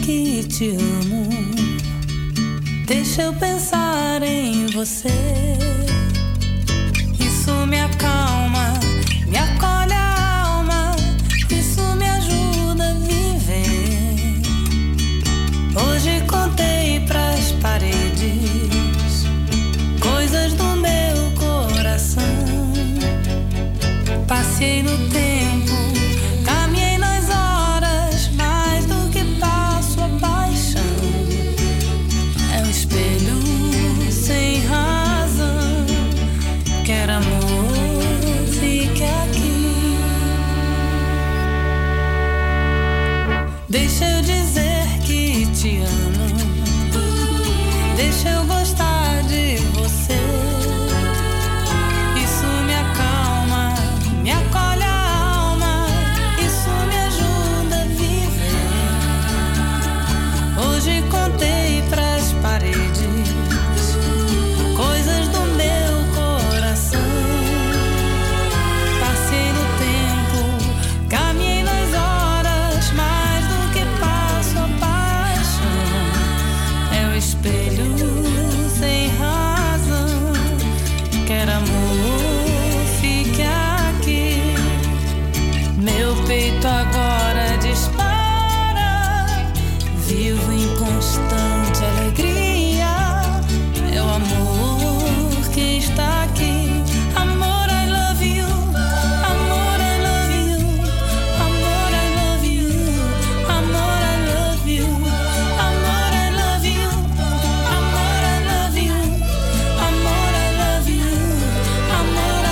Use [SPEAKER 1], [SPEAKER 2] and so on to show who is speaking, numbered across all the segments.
[SPEAKER 1] que te amo. Deixa eu pensar em você. Isso me acalma, me acolhe a alma. Isso me ajuda a viver. Hoje contei pras paredes coisas do meu coração. Passei no tempo, caminhei nas horas, mais do que passo a paixão. É um espelho sem razão. Quero amor, fique aqui. Deixa eu dizer que te amo. Deixa eu gostar de você. Isso me acalma, me acolhe a alma. Isso me ajuda a viver. Hoje contei pras paredes coisas do meu coração. Passei no tempo, caminhei nas horas, mais do que passo a paixão. É o espelho sem razão. Quero amor, fique aqui. Meu peito agora dispara. Vivo em constante alegria. É o amor que está aqui. Amor, I love you. Amor, I love you. Amor, I love you. Amor, I love you. Amor, I love you. Amor, I love you. Amor, I love you. Amor,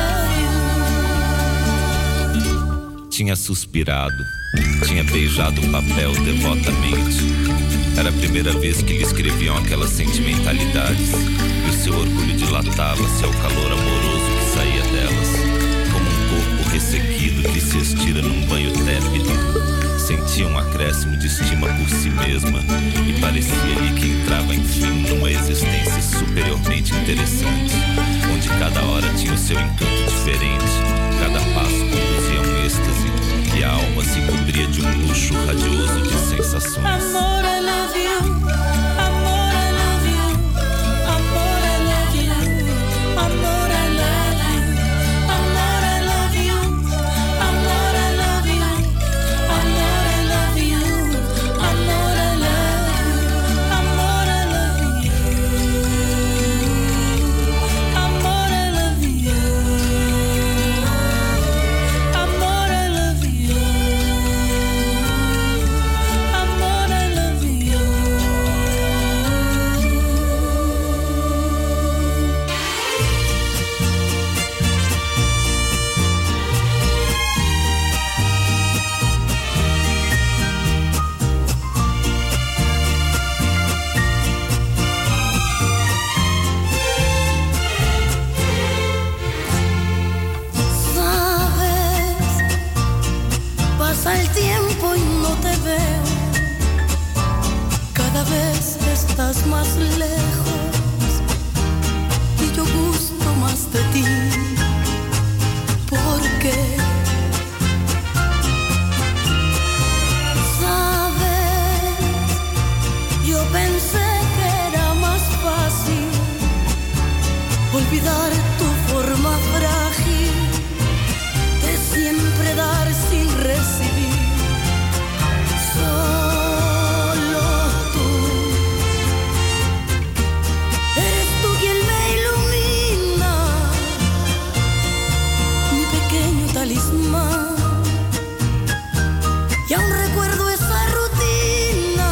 [SPEAKER 1] I love you.
[SPEAKER 2] Tinha suspirado, tinha beijado o papel devotamente. Era a primeira vez que lhe escreviam aquelas sentimentalidades, e o seu orgulho dilatava-se ao calor amoroso que saía delas, como um corpo ressequido que se estira num banho tépido. Sentia um acréscimo de estima por si mesma e parecia-lhe que entrava enfim numa existência superiormente interessante, onde cada hora tinha o seu encanto diferente, cada passo conduzia a um êxtase e a alma se cobria de um luxo radioso de sensações.
[SPEAKER 1] Amor, I love you. Amor, I love you. Amor, I love you. Amor, I love you. Amor, I love you. Amor, I love you. Amor, I love you. Amor, I love you. Amor, I love you. Amor, I love you. Amor, I love you.
[SPEAKER 3] Sabes, pasa el tiempo y no te veo. Cada vez estás más lejos y yo gusto más de ti. ¿Por qué? Sabes, yo pensé que era más fácil olvidar tu forma frágil de siempre dar sin recibir. Solo tú eres tú quien me ilumina, mi pequeño talismán. Y aún recuerdo esa rutina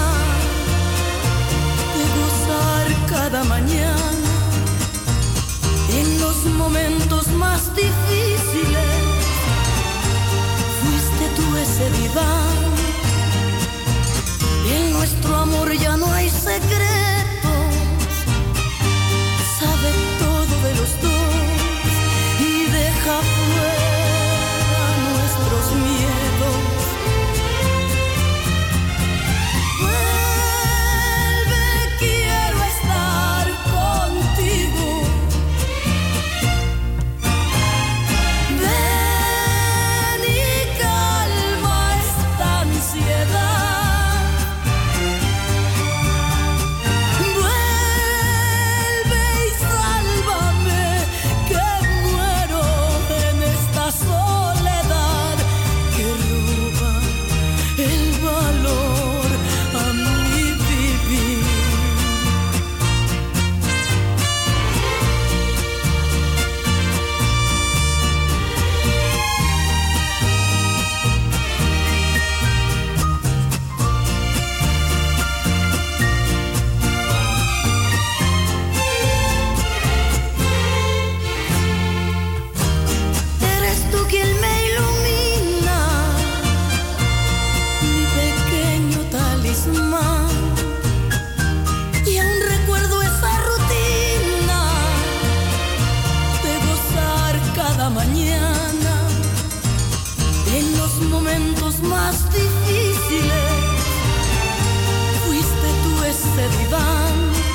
[SPEAKER 3] de gozar cada mañana en los momentos más difíciles. Fuiste tú ese diván. En nuestro amor ya no hay secretos. Sabe todo de los dos y deja fuera nuestros miedos. Vuelve, quiero estar contigo. Ven y calma esta ansiedad. dan.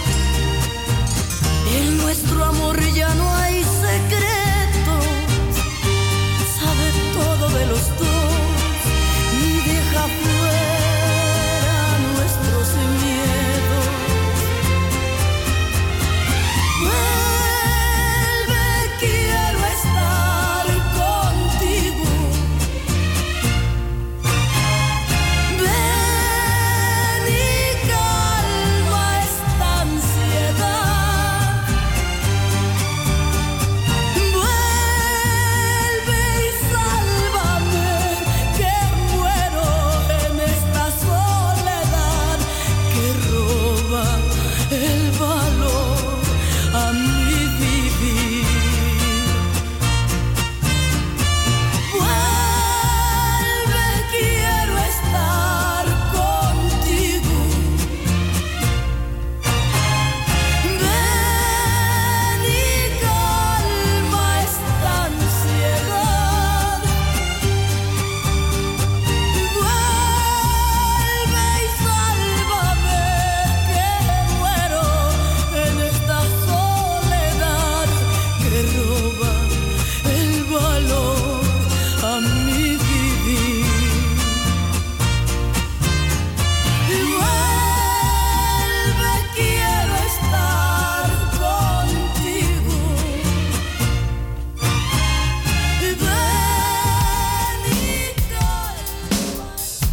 [SPEAKER 3] En nuestro amor ya no hay secretos, sabe todo de los dos y deja fuera nuestros miedos. Vuelve, quiero estar contigo. Ven y calma esta ansiedad. Vuelve y sálvame, que muero en esta soledad que roba el valor a mi vivir. Vuelve, quiero estar contigo. Ven y calma esta ansiedad. Vuelve y sálvame, que muero en esta soledad que roba el valor a mi vivir. Vuelve, quiero estar contigo. Ven y calma.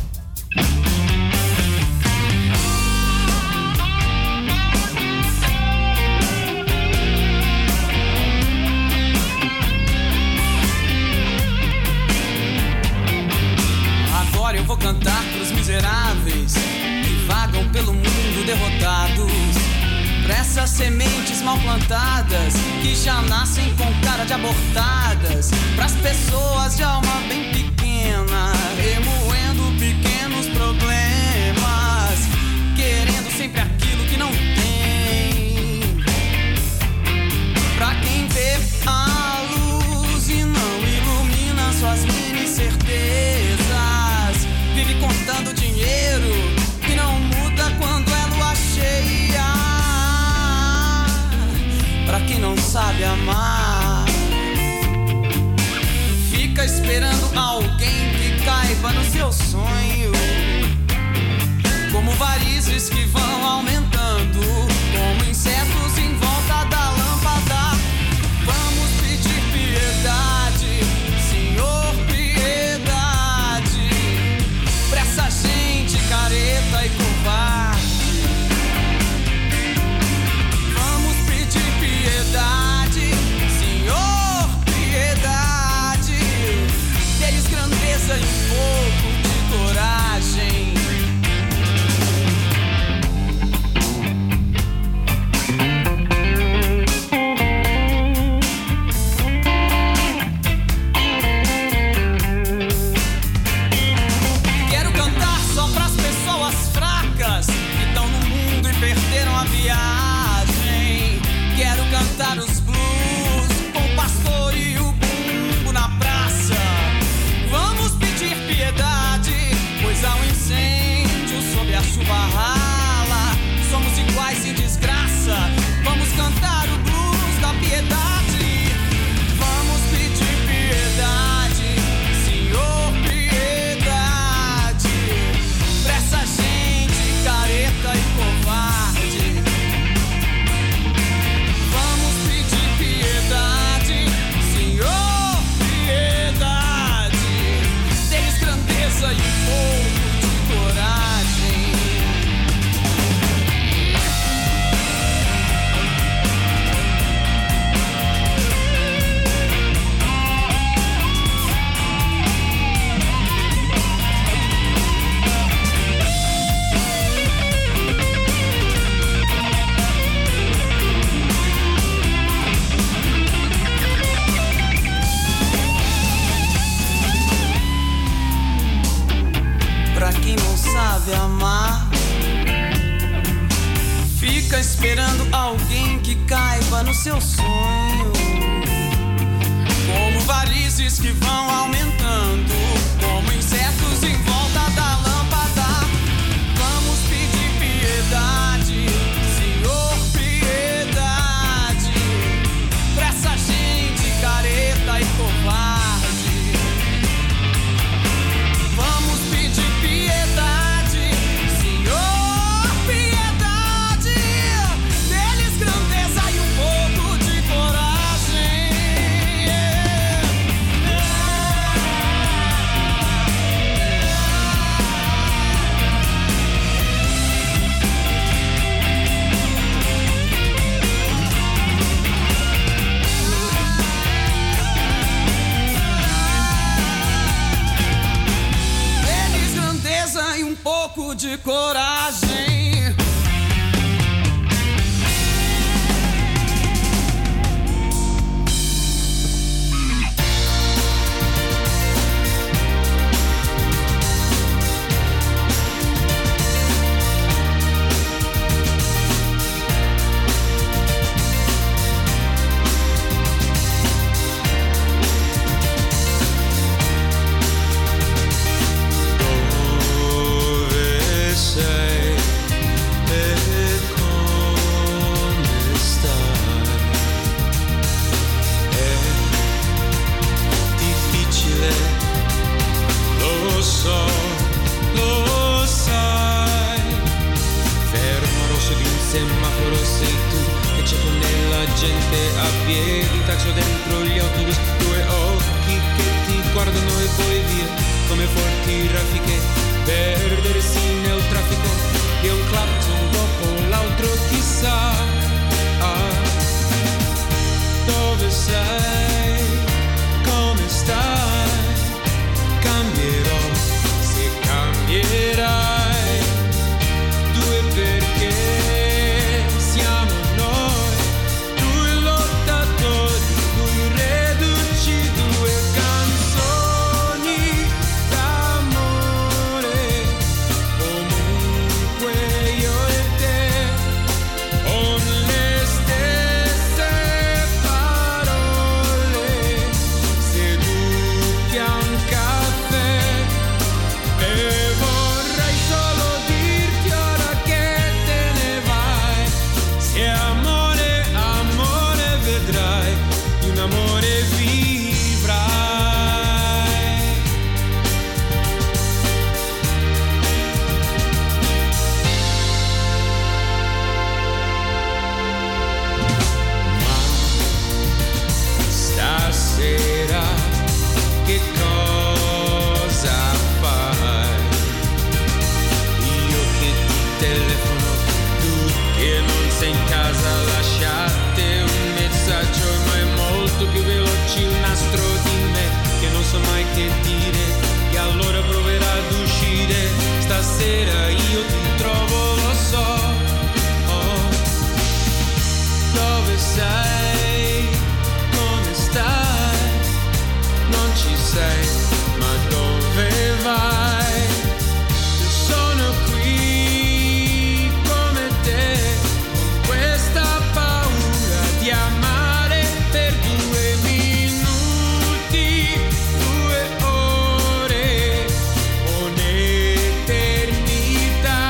[SPEAKER 4] Agora eu vou cantar pros miseráveis que vagam pelo mundo derrotados, pra essas sementes mal plantadas que já nascem com cara de abortadas, pras pessoas de alma bem pequena, remoendo pequenos problemas, querendo sempre aquilo que não tem, pra quem vê a luz e não ilumina suas mini certezas, vive contando dinheiro que não muda quando é lua cheia, pra quem não sabe amar, fica esperando alguém que caiba no seu sonho, como varizes que vão aumentando, como insetos em volta da lâmpada. Vamos pedir piedade, Senhor, piedade, pra essa gente careta e covarde. Vamos pedir piedade, Senhor, piedade, deles grandeza e um pouco de coragem. Quero cantar só pras pessoas fracas que estão no mundo e perderam a viagem. Quero cantar os blues com o pastor e o bumbo na praça. Vamos pedir piedade, pois há um incêndio sob a chuva rala. Somos iguais em desgraça. Vamos cantar o blues da piedade. Vamos pedir piedade, Senhor, piedade, pra essa gente careta e covarde. Vamos pedir piedade, Senhor, piedade, deles grandeza e um pouco de coragem. Pra quem não sabe amar, fica esperando alguém que caiba no seu sonho, como varizes que vão aumentando, como insetos em volta da lâmpada. Vamos pedir piedade,
[SPEAKER 5] semaforo sei tu che ci pone la gente a piedi, taccio dentro gli autobus, due occhi che ti guardano e poi via come forti raffiche, perdersi nel traffico di un clacson dopo l'altro, chissà dove sei, come stai, cambierò se cambierai, due perché siamo noi, due lottatori, due reduci, due canzoni d'amore, comunque io e te, con le stesse parole, seduti a un caffè, e vorrei solo dirti ora che te ne vai, se amore, amore vedrai, di un amore vivrai. Ma stasera che cosa fai? Io che ti telefono, tu che non sei in casa, lasciate un messaggio, ma è molto più veloce il nastro di me, che non so mai che dire, e allora proverà ad uscire, stasera io ti trovo, lo so, dove sei, come stai, non ci sei, ma dove vai? Io sono qui come te, con questa paura di amare per 2 minuti, 2 ore, un'eternità,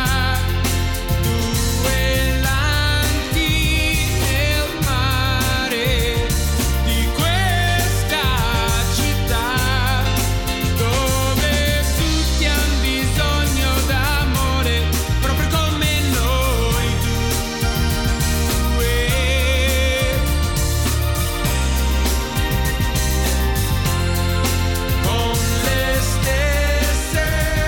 [SPEAKER 5] 2 lampi nel mare di questa città, dove tutti hanno bisogno d'amore, proprio come noi due, con le stesse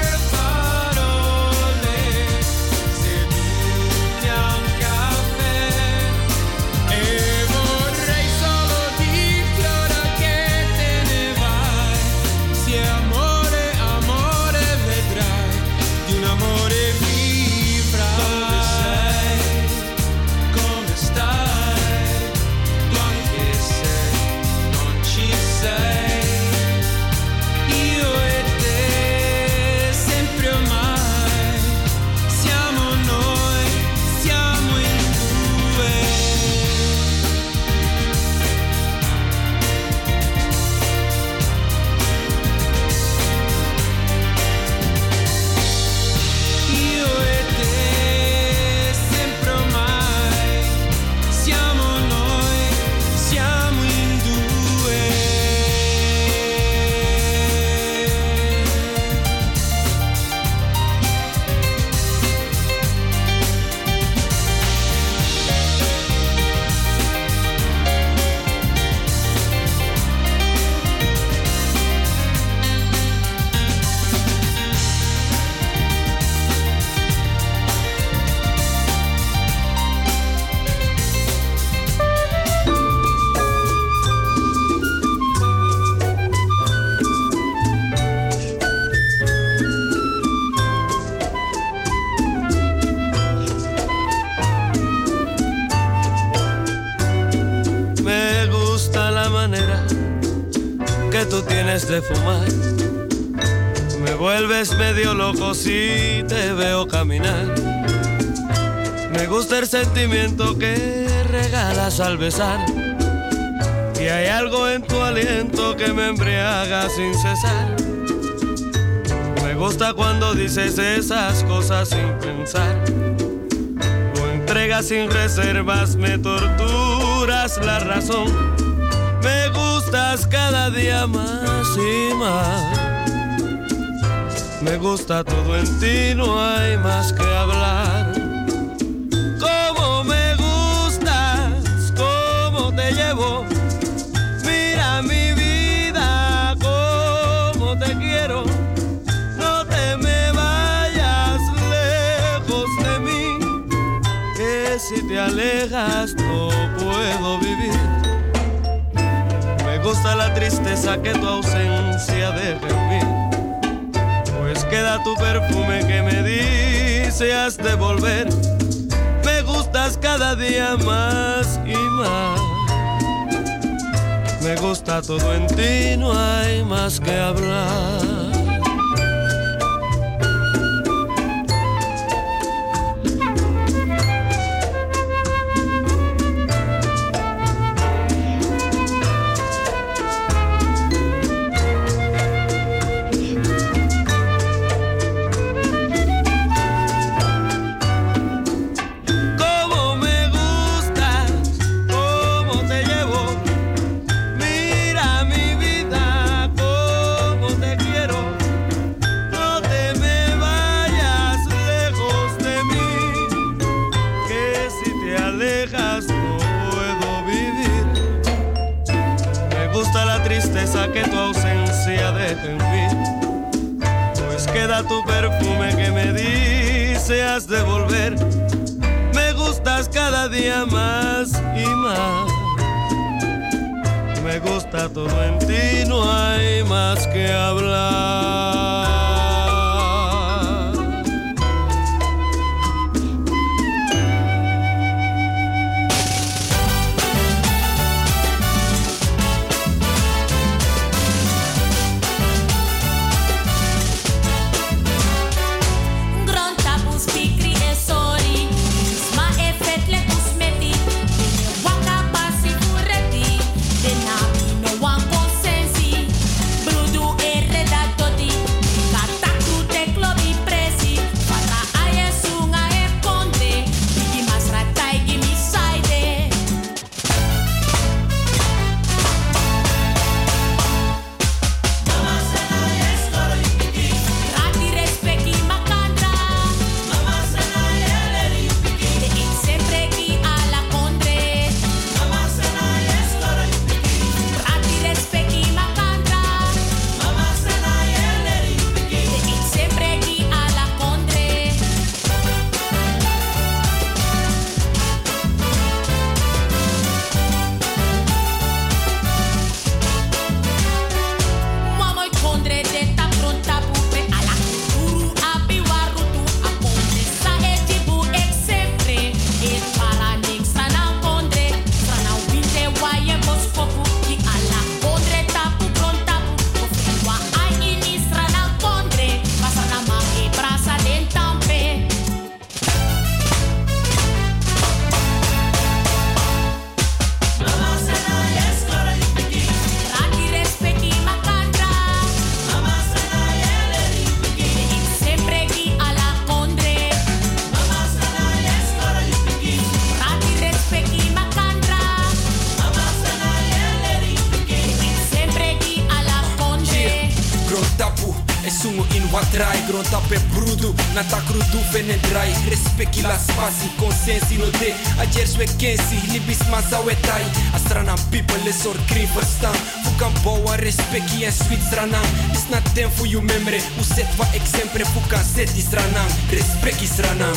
[SPEAKER 5] parole, seduti a un caffè, e vorrei solo dirti ora che te ne vai, se amore, amore vedrai, di un amore vivrai. Dove sei, come stai, tu anche se non ci sei, io e te sempre ormai, siamo noi, siamo in due. Io e te sempre ormai, siamo noi, siamo in due. Me gusta la manera que tú tienes de fumar, me vuelves medio loco si te veo caminar. Me gusta el sentimiento que regalas al besar, y hay algo en tu aliento que me embriaga sin cesar. Me gusta cuando dices esas cosas sin pensar, tu entrega sin reservas, me torturas la razón. Me gustas cada día más y más. Me gusta todo en ti, no hay más que hablar. Cómo me alejas no puedo vivir. Me gusta la tristeza que tu ausencia deja en mí, pues queda tu perfume que me dice has de volver. Me gustas cada día más y más. Me gusta todo en ti, no hay más que hablar. Que tu ausencia deja en mí, pues queda tu perfume que me dice has de volver. Me gustas cada día más y más. Me gusta todo en ti, no hay más que hablar.
[SPEAKER 6] Tape brudo, nata crudo, venendrai. Respecti la spasi, consensi no de. Ayer swe kensi, libis masa wetai. Astrana people, les or green verstaan. Fukan boa, respecti en sweet stranang. Is not them for you memory. Uset va exemple, fukan set is stranang. Respecti stranang.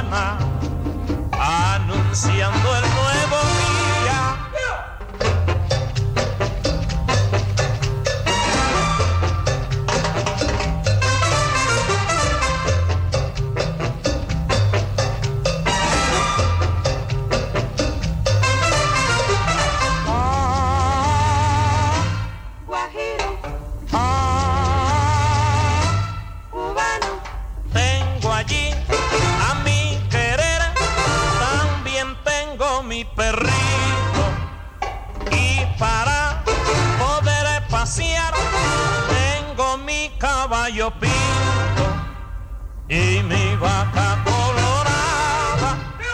[SPEAKER 7] mañana, anunciando el nuevo día. Tengo allí a mi querer, también tengo mi perrito, y para poder pasear tengo mi caballo pinto y mi vaca colorada.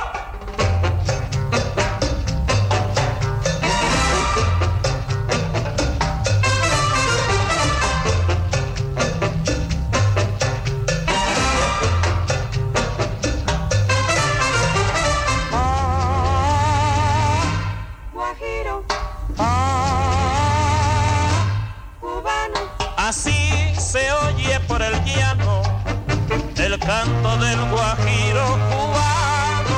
[SPEAKER 7] Así se oye por el llano el canto del guajiro cubano.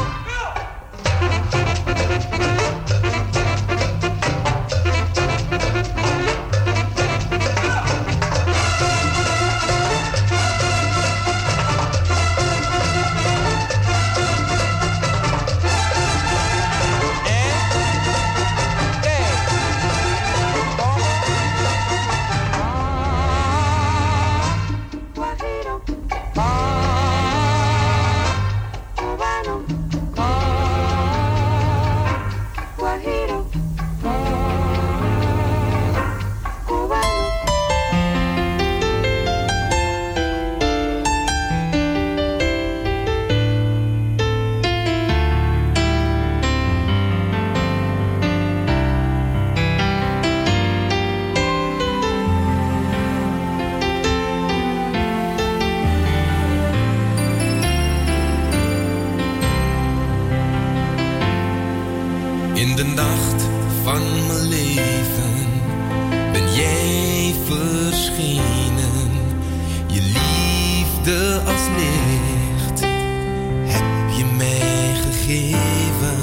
[SPEAKER 8] In de nacht van mijn leven ben jij verschenen. Je liefde als licht heb je mij gegeven.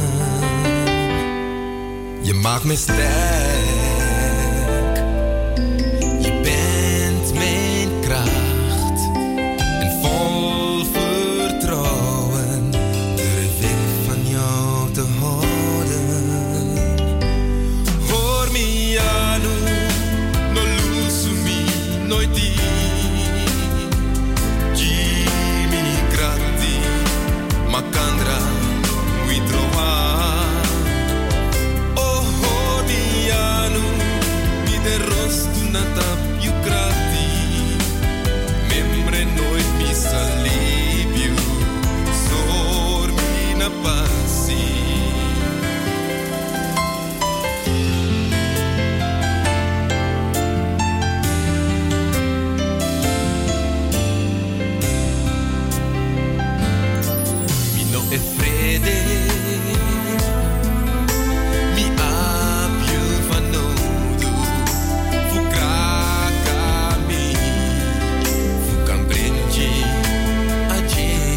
[SPEAKER 8] Je maakt me sterk. Je bent mijn kracht. En vol vertrouwen durf ik van jou te houden. Macandra, we trovar. Oh, Dianu, mi de rosto na tap you krati. Membre nooit mi salibio, sor mi na pasi. E fredde mi apio vanodo fu cacami fu cambrengi a je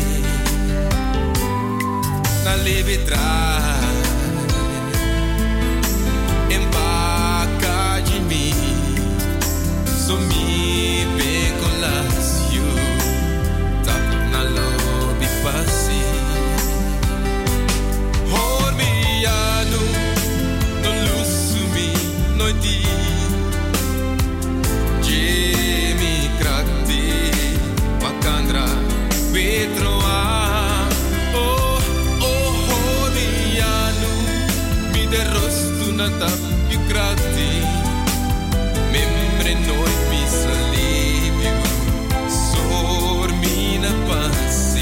[SPEAKER 8] na levetrai em bacca de mi so mi pecolasio tap na lobby passi. Noiti, Jimmy Krakti, Macandra, Petroa. Oh, oh, oh, Dianu, mi de rosto na tap you Krakti. Membre nooit mi salibio, sor mi na passi.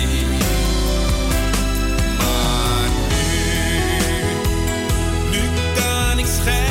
[SPEAKER 8] Maar nu kan ik schijnen.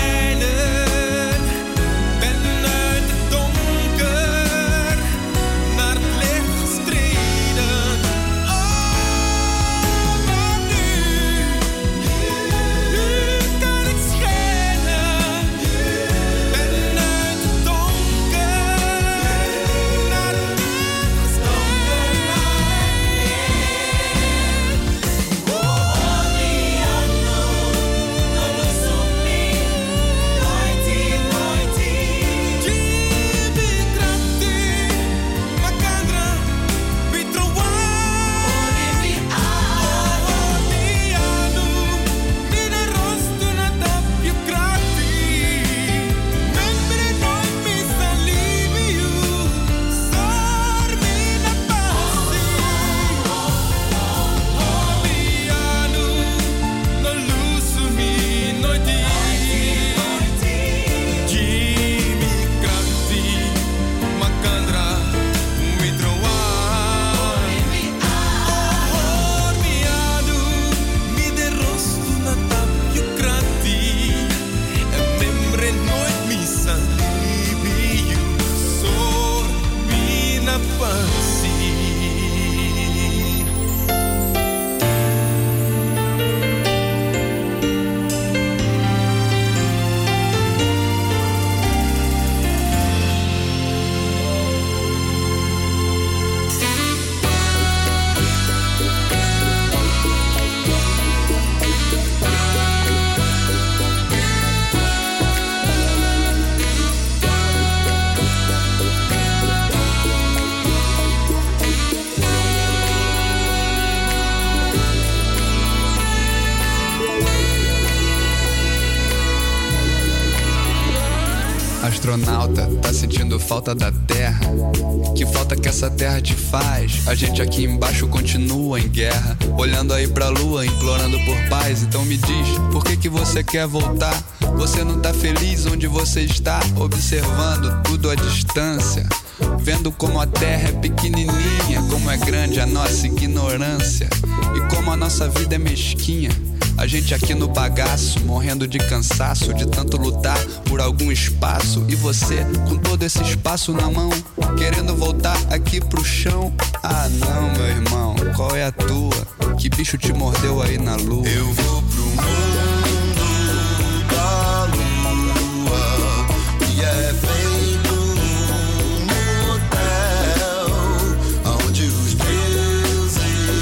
[SPEAKER 9] astronauta, tá sentindo falta da terra? Que falta que essa terra te faz? A gente aqui embaixo continua em guerra, olhando aí pra lua, implorando por paz. Então me diz, por que você quer voltar? Você não tá feliz onde você está? Observando tudo à distância, vendo como a terra é pequenininha, como é grande a nossa ignorância e como a nossa vida é mesquinha. A gente aqui no bagaço, morrendo de cansaço, de tanto lutar por algum espaço. E você, com todo esse espaço na mão, querendo voltar aqui pro chão. Ah não, meu irmão, qual é a tua? Que bicho te mordeu aí na lua?
[SPEAKER 10] Eu vou pro mundo da lua, que é feito um hotel, onde os deuses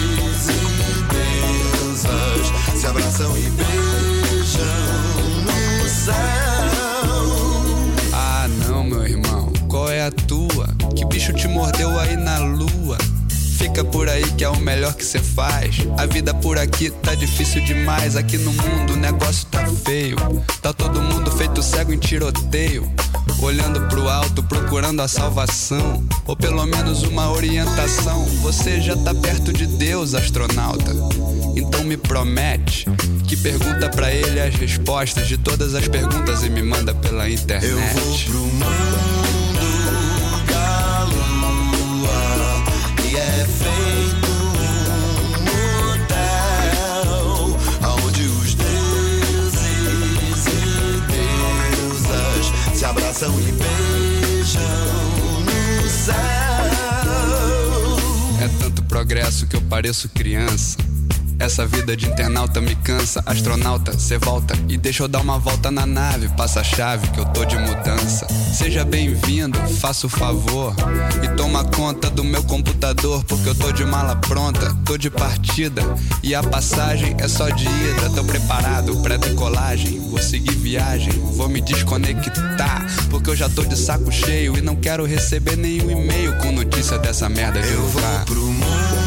[SPEAKER 10] e deusas se abraçam e beijam no céu.
[SPEAKER 9] Ah não, meu irmão, qual é a tua? Que bicho te mordeu aí na lua? Fica por aí que é o melhor que cê faz. A vida por aqui tá difícil demais. Aqui no mundo o negócio tá feio. Tá todo mundo feito cego em tiroteio, olhando pro alto, procurando a salvação, ou pelo menos uma orientação. Você já tá perto de Deus, astronauta. Então me promete que pergunta pra ele as respostas de todas as perguntas e me manda pela internet.
[SPEAKER 10] Eu vou pro mundo da lua, que é feito um hotel, onde os deuses e deusas se abraçam e beijam no céu.
[SPEAKER 9] É tanto progresso que eu pareço criança. Essa vida de internauta me cansa. Astronauta, cê volta e deixa eu dar uma volta na nave. Passa a chave que eu tô de mudança. Seja bem-vindo, faça o favor e toma conta do meu computador, porque eu tô de mala pronta, tô de partida e a passagem é só de ida. Tô preparado pra decolagem, vou seguir viagem, vou me desconectar, porque eu já tô de saco cheio e não quero receber nenhum e-mail com notícia dessa merda de
[SPEAKER 10] eu
[SPEAKER 9] lugar.
[SPEAKER 10] vou pro mundo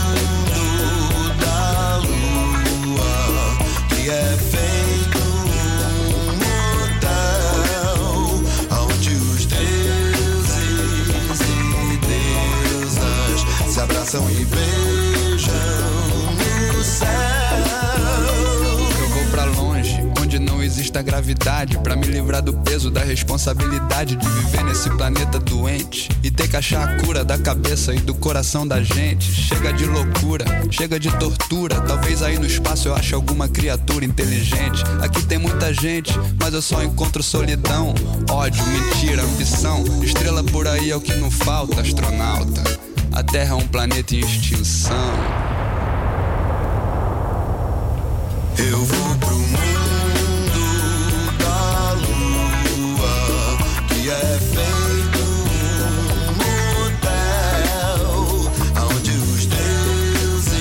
[SPEAKER 10] que é feito um hotel, onde os deuses e deusas se abraçam e beijam no céu.
[SPEAKER 9] Eu vou pra longe, onde não existe a gravidade, pra me livrar do peso da responsabilidade de viver nesse planeta doente e ter que achar a cura da cabeça e do coração da gente. Chega de loucura, chega de tortura. Talvez aí no espaço eu ache alguma criatura inteligente. Aqui tem muita gente, mas eu só encontro solidão, ódio, mentira, ambição. Estrela por aí é o que não falta, astronauta. A Terra é um planeta em extinção.
[SPEAKER 10] Eu vou pro mundo da lua, que é feito um hotel, onde os deuses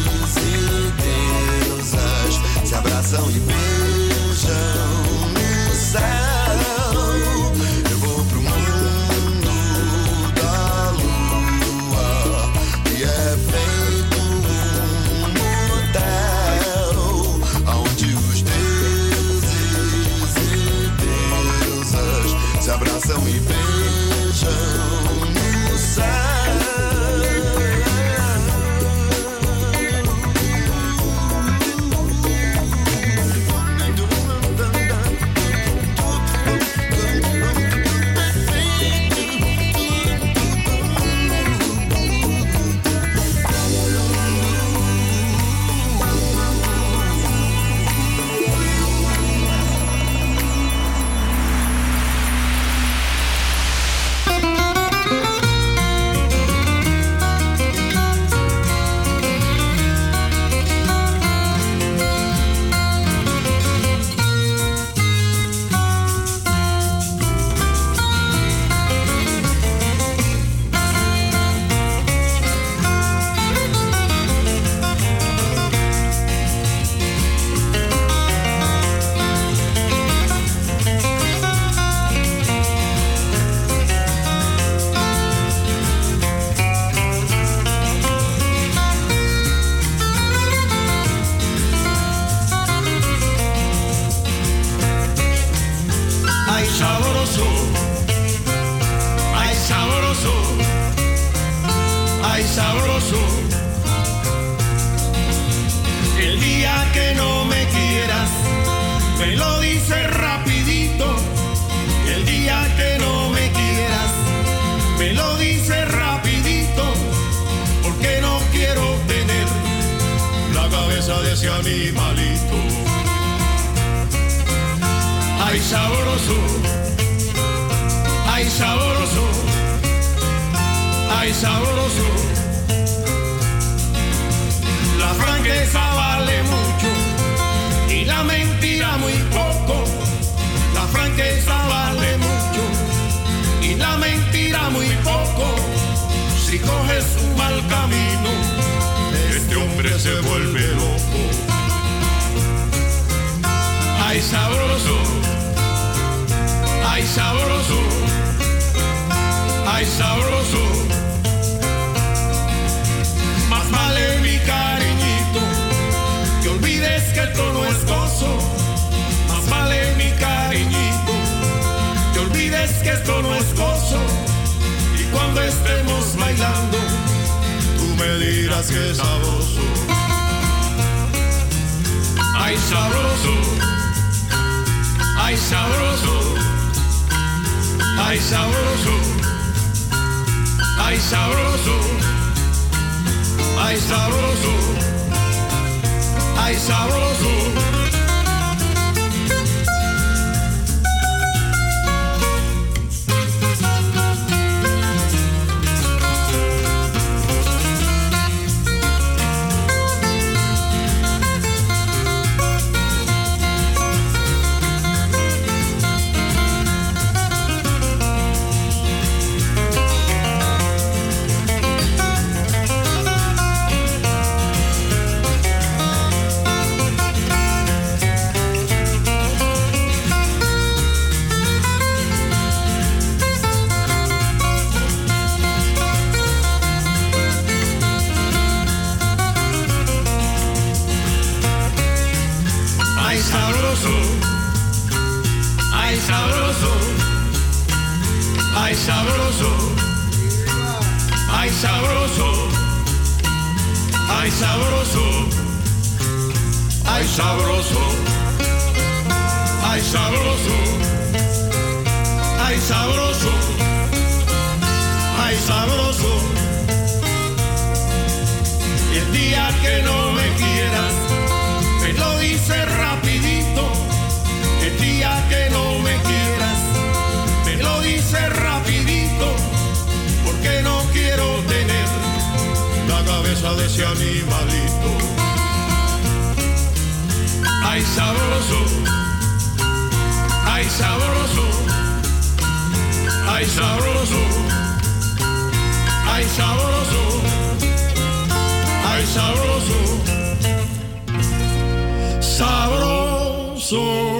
[SPEAKER 10] e deusas se abraçam e beijam no céu. Eu vou pro mundo da lua, que é feito um hotel, onde os deuses
[SPEAKER 11] de ese animalito. Ay, sabroso, ay, sabroso, ay, sabroso. La franqueza vale mucho y la mentira muy poco. La franqueza vale mucho y la mentira muy poco. Si coges un mal camino, este hombre se vuelve loco. Ay, sabroso, ay, sabroso, ay, sabroso. Más vale mi cariñito que olvides que esto no es gozo. Más vale mi cariñito que olvides que esto no es gozo. Y cuando estemos bailando, tú me dirás que es sabroso. Ay, sabroso, ay, sabroso, ay, sabroso, ay, sabroso, ay, sabroso, ay, sabroso. Ay, sabroso, ay, sabroso, ay, sabroso, ay, sabroso, ay, sabroso, ay, sabroso, ay, sabroso. Y el día que no me quieras, me lo dices rapidito. El día que no me quieras, me lo dices rapidito, porque no quiero tener la cabeza de ese animalito. Ay, sabroso, ay, sabroso, ay, sabroso, ay, sabroso, ay, sabroso, sabroso.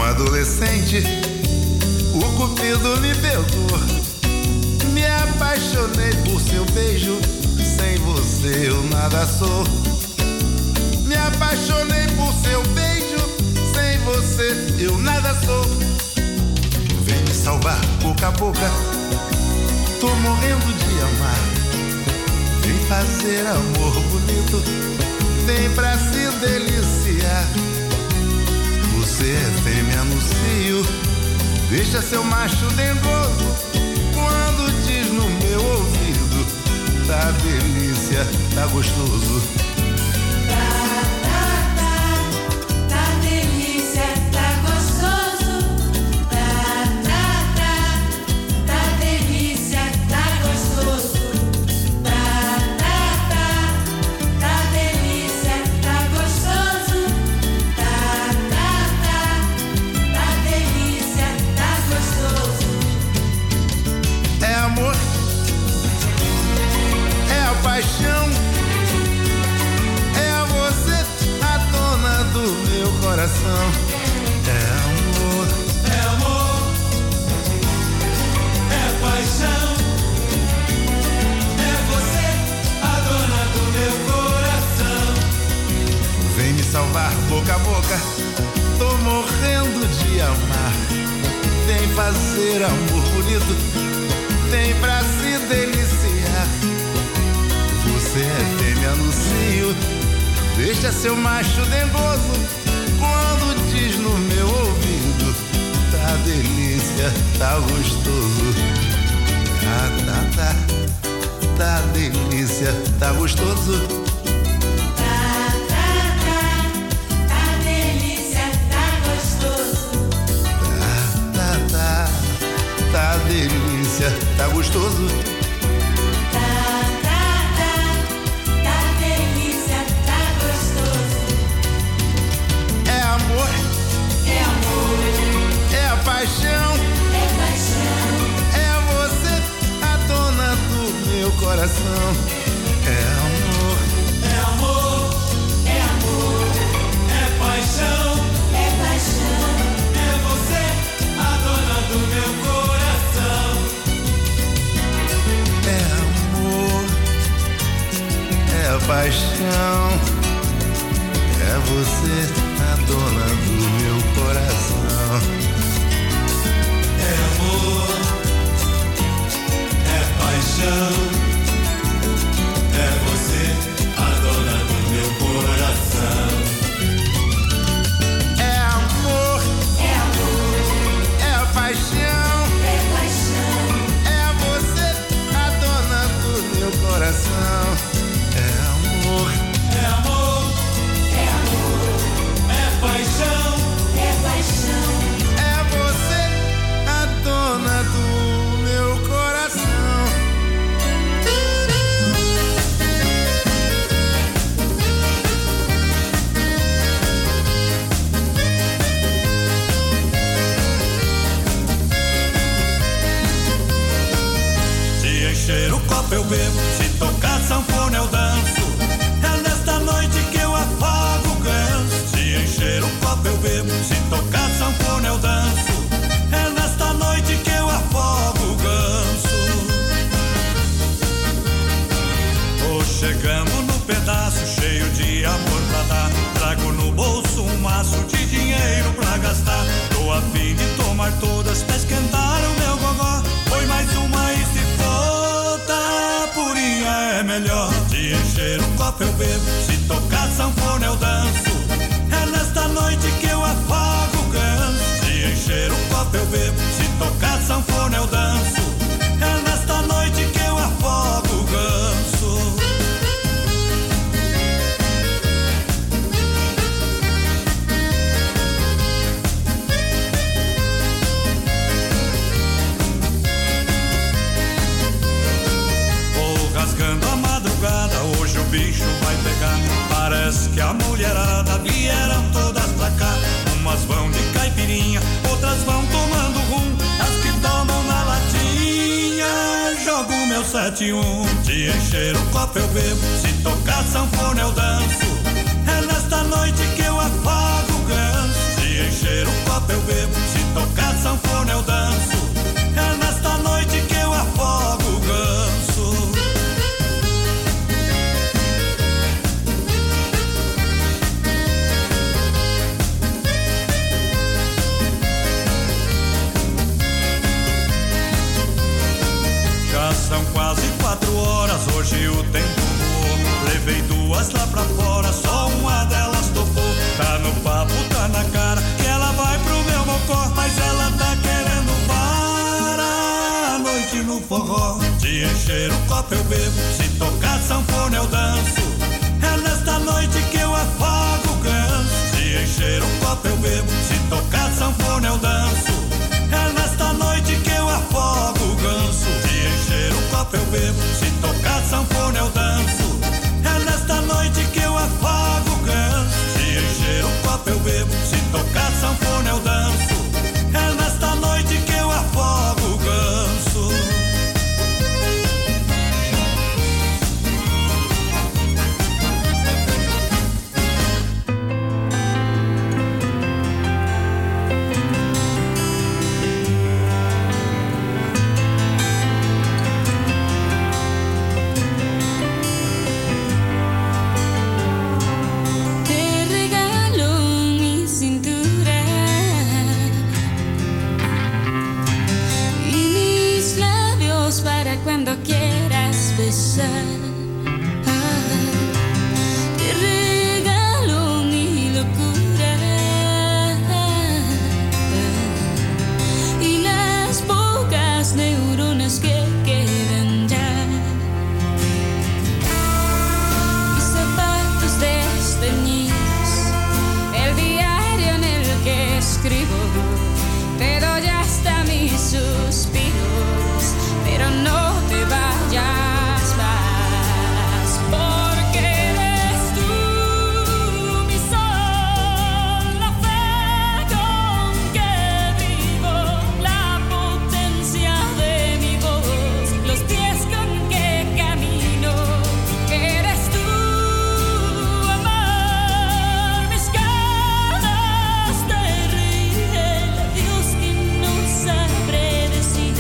[SPEAKER 12] adolescente, o cupido me pegou. Me apaixonei por seu beijo, sem você eu nada sou. Me apaixonei por seu beijo, sem você eu nada sou. Vem me salvar boca a boca, tô morrendo de amar. Vem fazer amor bonito, vem pra se deliciar. Você é fêmea no cio, deixa seu macho dengoso. Quando diz no meu ouvido, tá delícia, tá gostoso.
[SPEAKER 1] Tá delícia, tá gostoso. Tá delícia, tá gostoso. Tá delícia, tá gostoso. Tá delícia, tá gostoso.
[SPEAKER 12] É amor, é a paixão, é você a dona do meu coração. É amor,
[SPEAKER 11] é paixão, é você a dona do meu coração.
[SPEAKER 12] vem me salvar boca a boca, tô morrendo de amar. Vem fazer amor bonito, vem pra se deliciar. Você é fêmea no cio, deixa seu macho dengoso. Quando diz no meu ouvido, tá delícia, tá gostoso. Tá delícia, tá gostoso.
[SPEAKER 1] Tá delícia, tá gostoso.
[SPEAKER 12] Tá delícia, tá gostoso.
[SPEAKER 1] Tá delícia, tá gostoso.
[SPEAKER 12] É amor, é a paixão, é você a dona do meu coração. É amor,
[SPEAKER 11] é paixão, é você a dona do meu coração.
[SPEAKER 12] é amor, é a paixão, é você a dona do meu coração.
[SPEAKER 11] É amor, é paixão, é você a dona do meu coração.
[SPEAKER 12] É amor, é a paixão, é você a dona do meu coração. É amor,
[SPEAKER 11] É paixão,
[SPEAKER 12] é você a dona do meu coração.
[SPEAKER 11] se encher o copo eu bebo, se tocar sanfona eu danço. É nesta noite que eu afago o ganso. Se encher o copo eu bebo, se tocar sanfona eu danço. É nesta noite que eu afogo o ganso. Tô chegando no pedaço cheio de amor pra dar. Trago no bolso um maço de dinheiro pra gastar. Tô a fim de tomar todas pra esquentar o meu gogó. Foi mais uma e se for tá purinha é melhor. Se encher o copo eu bebo, se tocar sanfona eu danço. É nesta noite que eu afago o ganso. Se encher o copo eu bebo, se tocar sanfona eu danço. É nesta noite que eu afogo o ganso. Vou rasgando a madrugada, hoje o bicho vai pegar. Parece que a mulherada vieram todas pra cá. Umas vão de caipirinha, outras vão tomando rum. As que tomam na latinha, jogo meu 7-1. Se encher o copo eu bebo, se tocar sanfona eu danço. É nesta noite que eu afago o ganso. Se encher o copo eu
[SPEAKER 13] bebo, se tocar sanfona eu danço. É nesta noite que eu afogo o ganso. Já são quase 4 horas, hoje o tempo voou. Levei 2 lá pra fora, só uma delas topou. Tá no papo, tá na cara, que ela vai pro meu mocó. Mas ela tá querendo parar a noite no forró. Se encher o copo eu bebo, se tocar sanfona eu danço. É nesta noite que eu afogo o ganso. Se encher o copo eu bebo, se tocar sanfona eu danço. É nesta noite que eu afogo o ganso. Se encher o copo eu bebo, se tocar sanfona eu danço. É nesta noite que eu afogo o ganso. Se encher o copo eu bebo, se tocar sanfona eu danço. É nesta noite que eu afogo o ganso.
[SPEAKER 14] Cuando quieras besar, te regalo mi locura y las pocas neuronas que quedan ya. Mis zapatos desteñidos, el diario en el que escribo, te doy hasta mis suspiros. Pero no te vayas más, porque eres tú mi sol, la fe con que vivo, la potencia de mi voz, los pies con que camino. Eres tú, amor, mis ganas de reír, Dios que no sabré decir.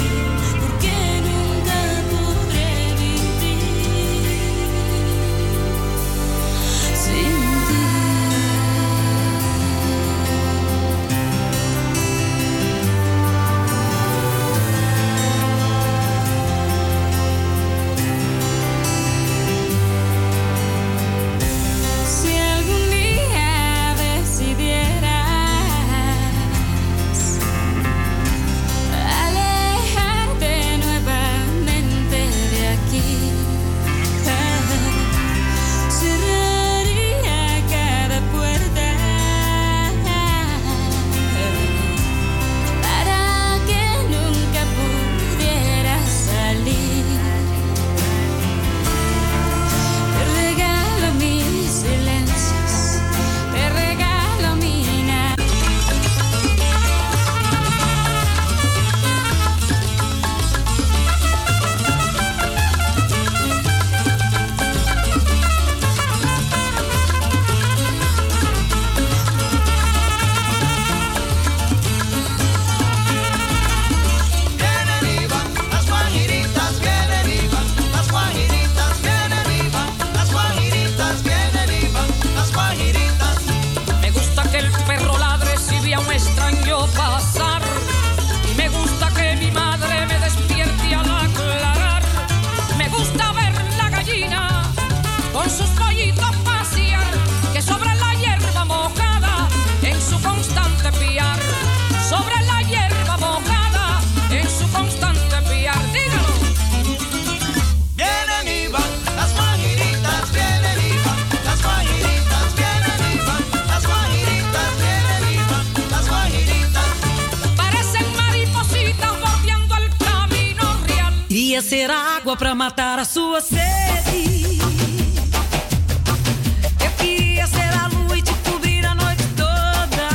[SPEAKER 3] Ser água pra matar a sua sede. Eu queria ser a lua e te cobrir a noite toda.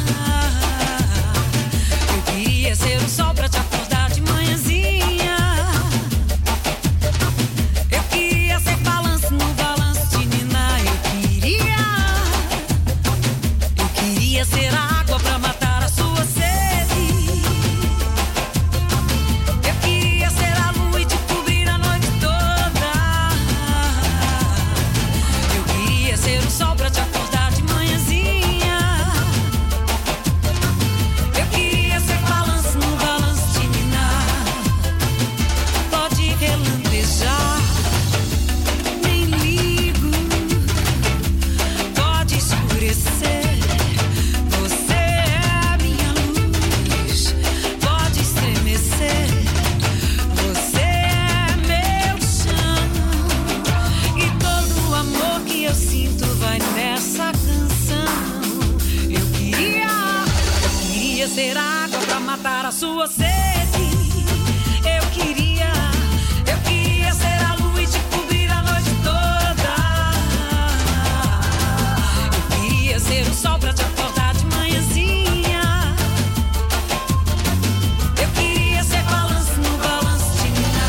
[SPEAKER 3] Eu queria ser o sol pra te acordar de manhãzinha. Eu queria ser balanço no balanço de ninar. Eu queria ser água pra matar a sua sede.
[SPEAKER 15] ser água pra matar a sua sede. Eu queria ser a lua e te cobrir a noite toda. Eu queria ser o sol pra te acordar de manhãzinha. Eu queria ser balanço no balanço de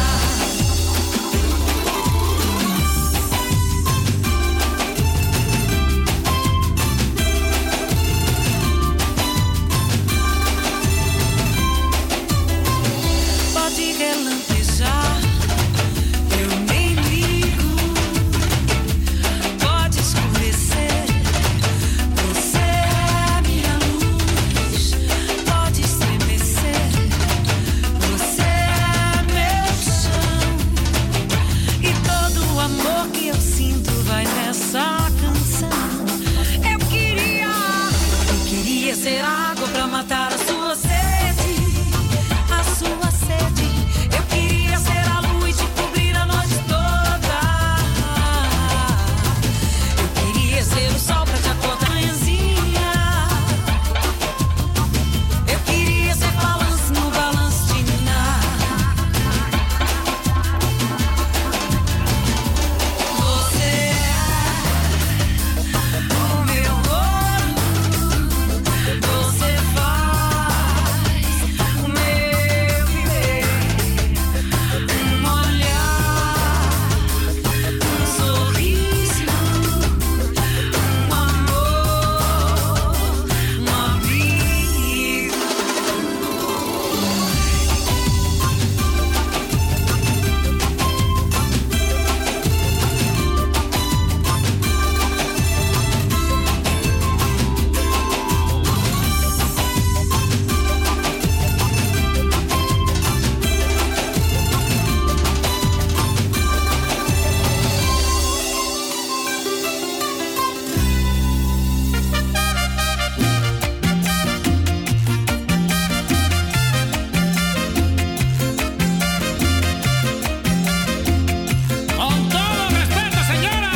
[SPEAKER 15] pode relampejar, eu nem ligo. Pode escurecer, você é minha luz. Pode estremecer, você é meu chão. E todo o amor que eu sinto vai nessa canção. Eu queria ser água pra matar a sua sede. A sua sede. Eu queria ser a lua e te cobrir a noite toda. Eu queria ser o sol pra te acordar manhãzinha. Eu queria ser balanço no balanço de Niná. Você é o meu ouro. Você faz o meu viver. Um olhar, um sorriso, um amor, um amigo.
[SPEAKER 11] Con todo respeto, señora.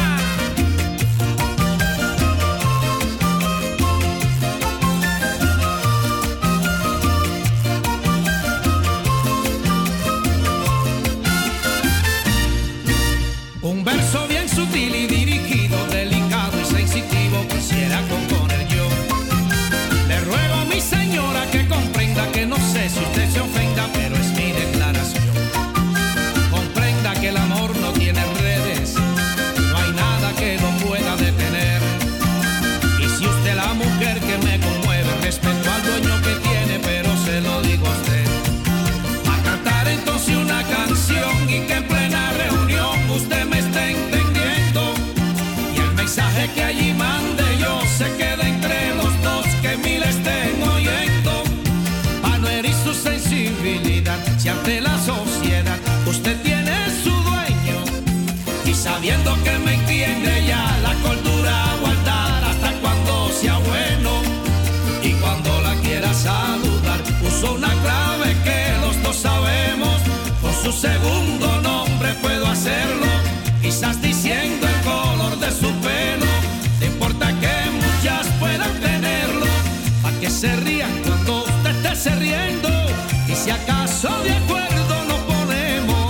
[SPEAKER 11] Un verso bien sutil y dirigido, delicado y sensitivo, quisiera componer yo. Le ruego a mi señora que comprenda que no sé si usted se ofenda, pero es mi declaración. Comprenda que el amor no tiene redes, no hay nada que lo pueda detener. Y si usted es la mujer que me conmueve, respeto al dueño que tiene, pero se lo digo a usted. A cantar entonces una canción y que en plena reunión usted me esté entendiendo. Y el mensaje que allí mande yo se quede entre los dos, que mil estén oyendo. Pa' no herir su sensibilidad, si ante la sociedad usted tiene su dueño. Y sabiendo que me entiende ya la cordura guardar hasta cuando sea bueno. Y cuando la quiera saludar, uso una clave que los dos sabemos. Con su segundo nombre puedo hacerlo, quizás diciendo el color de su pelo. No importa que muchas puedan tenerlo, pa' que se rían cuando usted esté riendo. Y si acaso de acuerdo nos ponemos.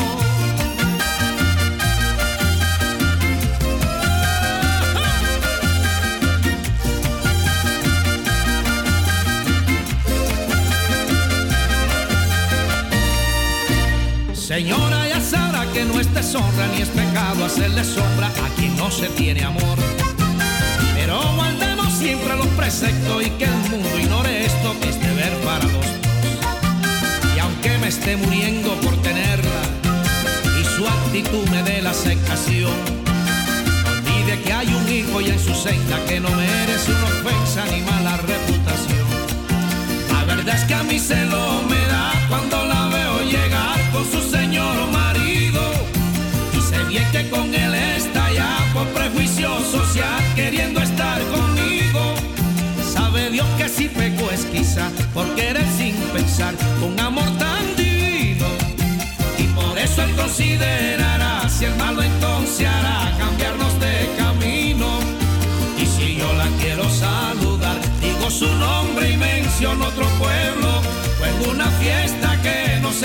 [SPEAKER 11] Señora, ya sabrá que no es deshonra ni es pecado hacerle sombra a quien no se tiene amor. Pero guardemos siempre los preceptos y que el mundo ignore esto, que es deber para los dos. Y aunque me esté muriendo por tenerla y su actitud me dé la aceptación, no olvide que hay un hijo ya en su senda que no merece una ofensa ni mala reputación. La verdad es que a mí celo me da cuando la veo llegar con su señor marido. Y sé bien que con él está ya por prejuicio social queriendo estar conmigo. Sabe Dios que si peco es quizá por querer sin pensar con amor tan divino. Y por eso él considerará si el malo entonces hará cambiarnos de camino. Y si yo la quiero saludar, digo su nombre y menciono otro pueblo.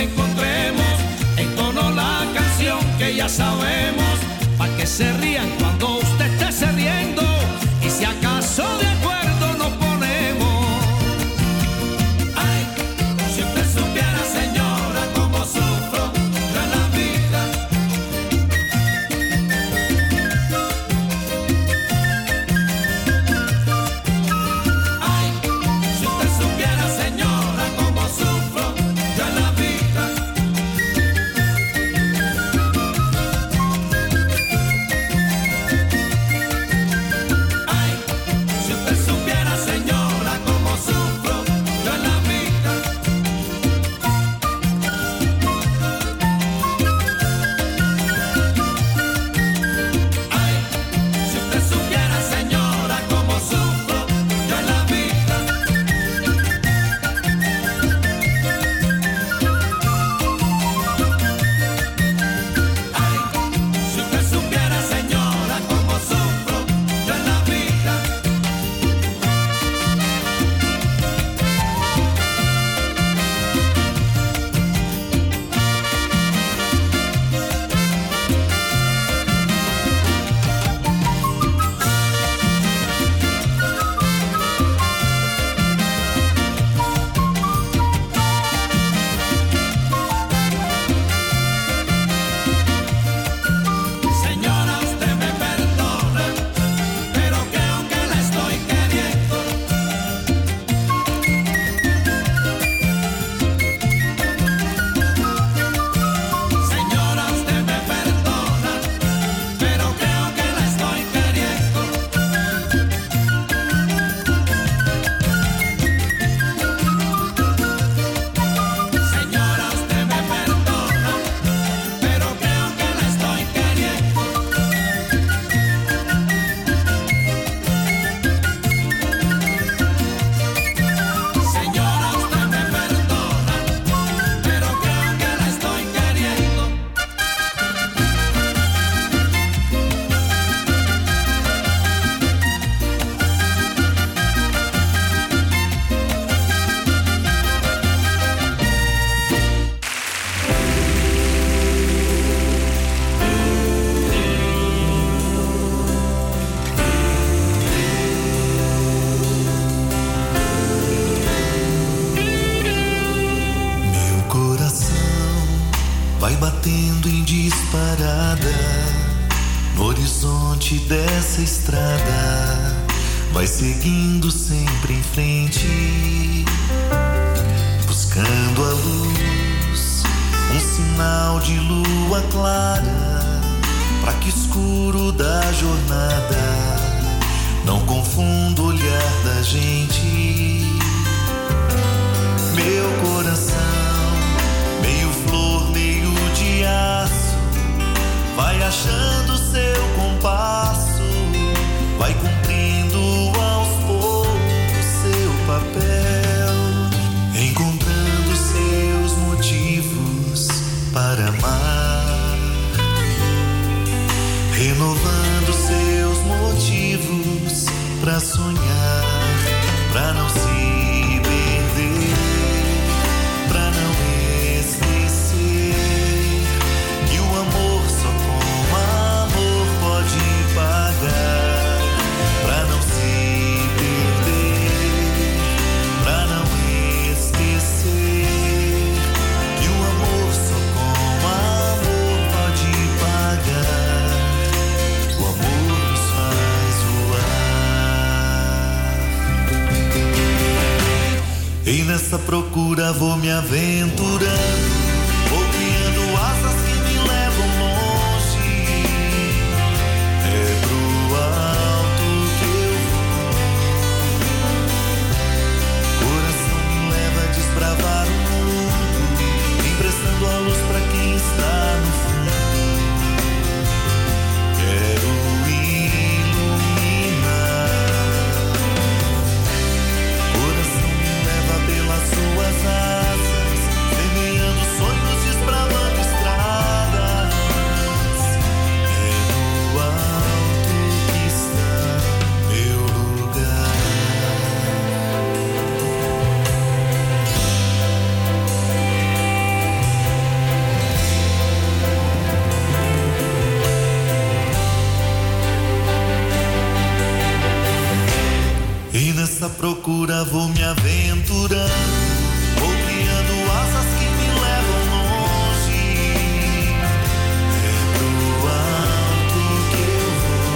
[SPEAKER 11] encontremos, entono la canción que ya sabemos, para que se rían cuando usted esté se riendo, y si acaso de acuerdo nos ponemos. Ay, si usted supiera, señora, cómo sufro yo en la vida. Ay, si usted supiera, señora, cómo sufro yo en la vida. Ay, si usted supiera, señora, cómo sufro yo en la vida. Ay, si usted supiera, señora, cómo sufro yo en la vida. Ay, si usted supiera, señora, cómo sufro yo en la vida. Señora, usted me perdona, pero creo que la estoy queriendo. Señora, usted me perdona, pero creo que la estoy queriendo. Señora, usted me perdona, pero creo que la estoy queriendo. Señora, usted me perdona, pero creo que la estoy queriendo.
[SPEAKER 10] Meu coração vai batendo em disparada no horizonte dessa estrada, vai seguindo sempre em frente, buscando a luz, um sinal de lua clara, pra que escuro da jornada não confunda o olhar da gente. Meu coração, meio flor, meio de aço, vai achando seu compasso, vai cumprindo aos poucos seu papel, encontrando seus motivos para amar, renovando seus motivos para sonhar, para não se perder, pra não esquecer que o amor só com amor pode pagar, pra não se perder, pra não esquecer que o amor só com amor pode pagar, o amor nos faz voar. E nessa procura vou me aventurando, vou criando asas que me levam longe. É pro alto que eu vou. Coração me leva a desbravar o mundo, emprestando a luz pra quem está no fundo. Quero iluminar. Coração me leva pelas suas asas, semeando procura vou me aventurando, vou criando asas que me levam longe. É pro alto que eu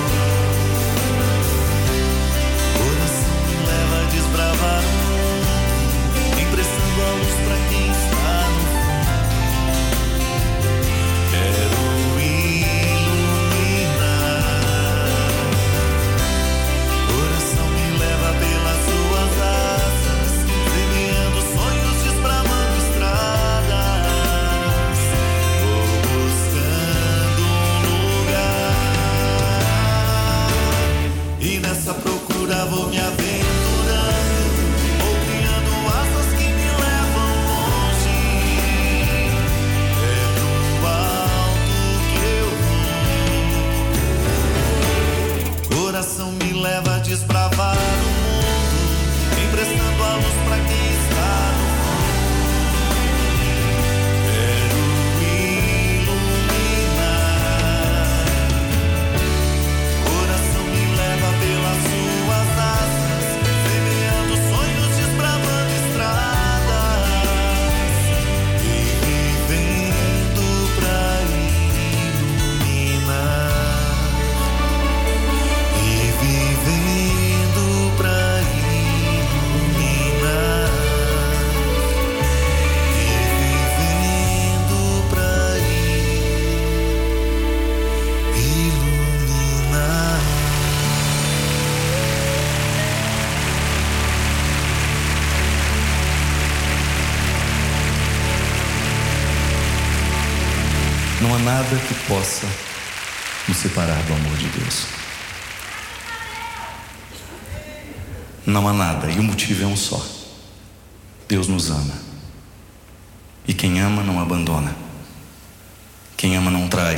[SPEAKER 10] vou. Coração me leva a desbravar o mundo, emprestando a luz pra quem está no fundo. Quero pelas suas asas, semeando sonhos, desbravando estradas. Vou buscando um lugar, e nessa procura vou me aventurando, vou criando asas que me levam longe. É pro alto que eu vou. Coração me leva a desbravar emprestando a luz pra quem está no fundo. Quero iluminar. Coração me leva pelas suas asas, semeando sonhos, desbravando estradas e vivendo pra iluminar. E vivendo pra
[SPEAKER 16] não há nada que possa nos separar do amor de Deus. Não há nada, e o motivo é um só. Deus nos ama. E quem ama não abandona. Quem ama não trai.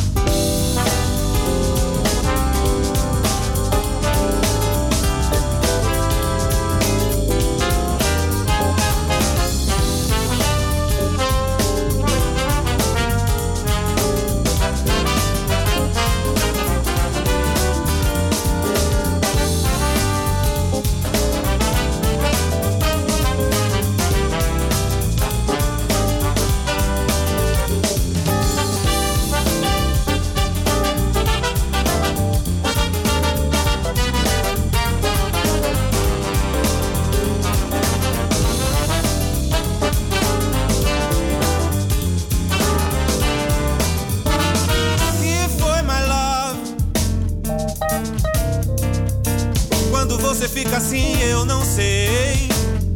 [SPEAKER 8] Fica assim, eu não sei.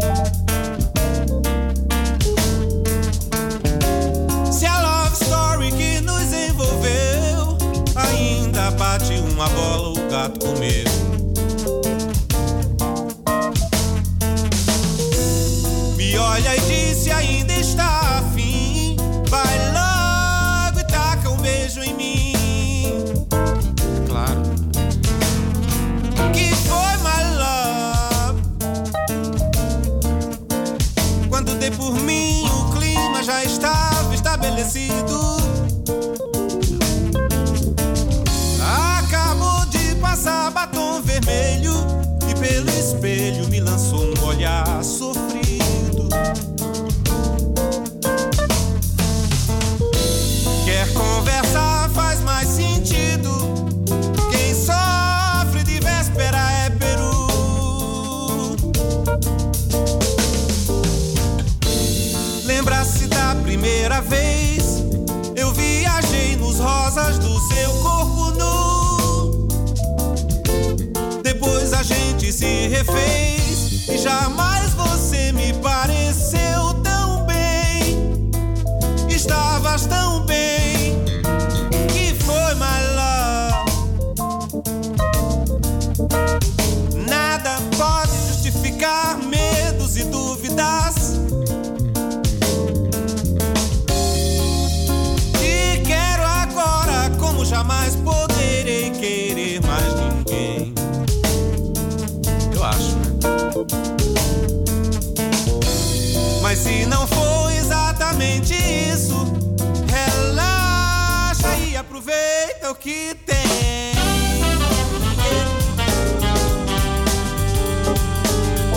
[SPEAKER 8] Se a love story que nos envolveu ainda bate uma bola, o gato comeu. Me olha e diz se ainda está afim. Vai logo e taca um beijo em mim. Claro. Que foi, my love? Quando dei por mim, o clima já estava estabelecido. Acabou de passar batom vermelho e pelo espelho me lançou um olhar sofrido. Quer conversar, faz mais sentido. Quem sofre de véspera é peru. Lembra-se da primeira vez eu viajei nos rosas do seu corpo nu. Depois a gente se refez e jamais você me pareceu tão bem. Estavas tão bem. Que foi, my love? Nada pode justificar medos e dúvidas. Te quero agora como jamais poderei querer mais ninguém. Eu acho, né? Mas se não for exatamente isso, relaxa e aproveita o que tem.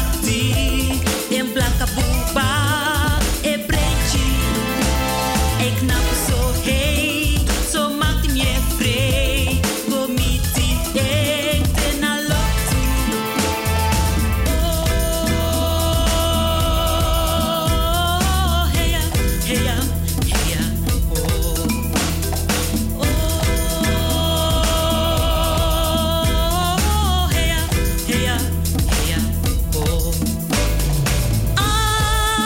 [SPEAKER 15] bati, em blanca buba, e preto, e knappe so hey, so maakt me vrij, comiti ik ten al lotu. Oh, heya, heya, heya, oh. Oh, heya, heya, heya, oh.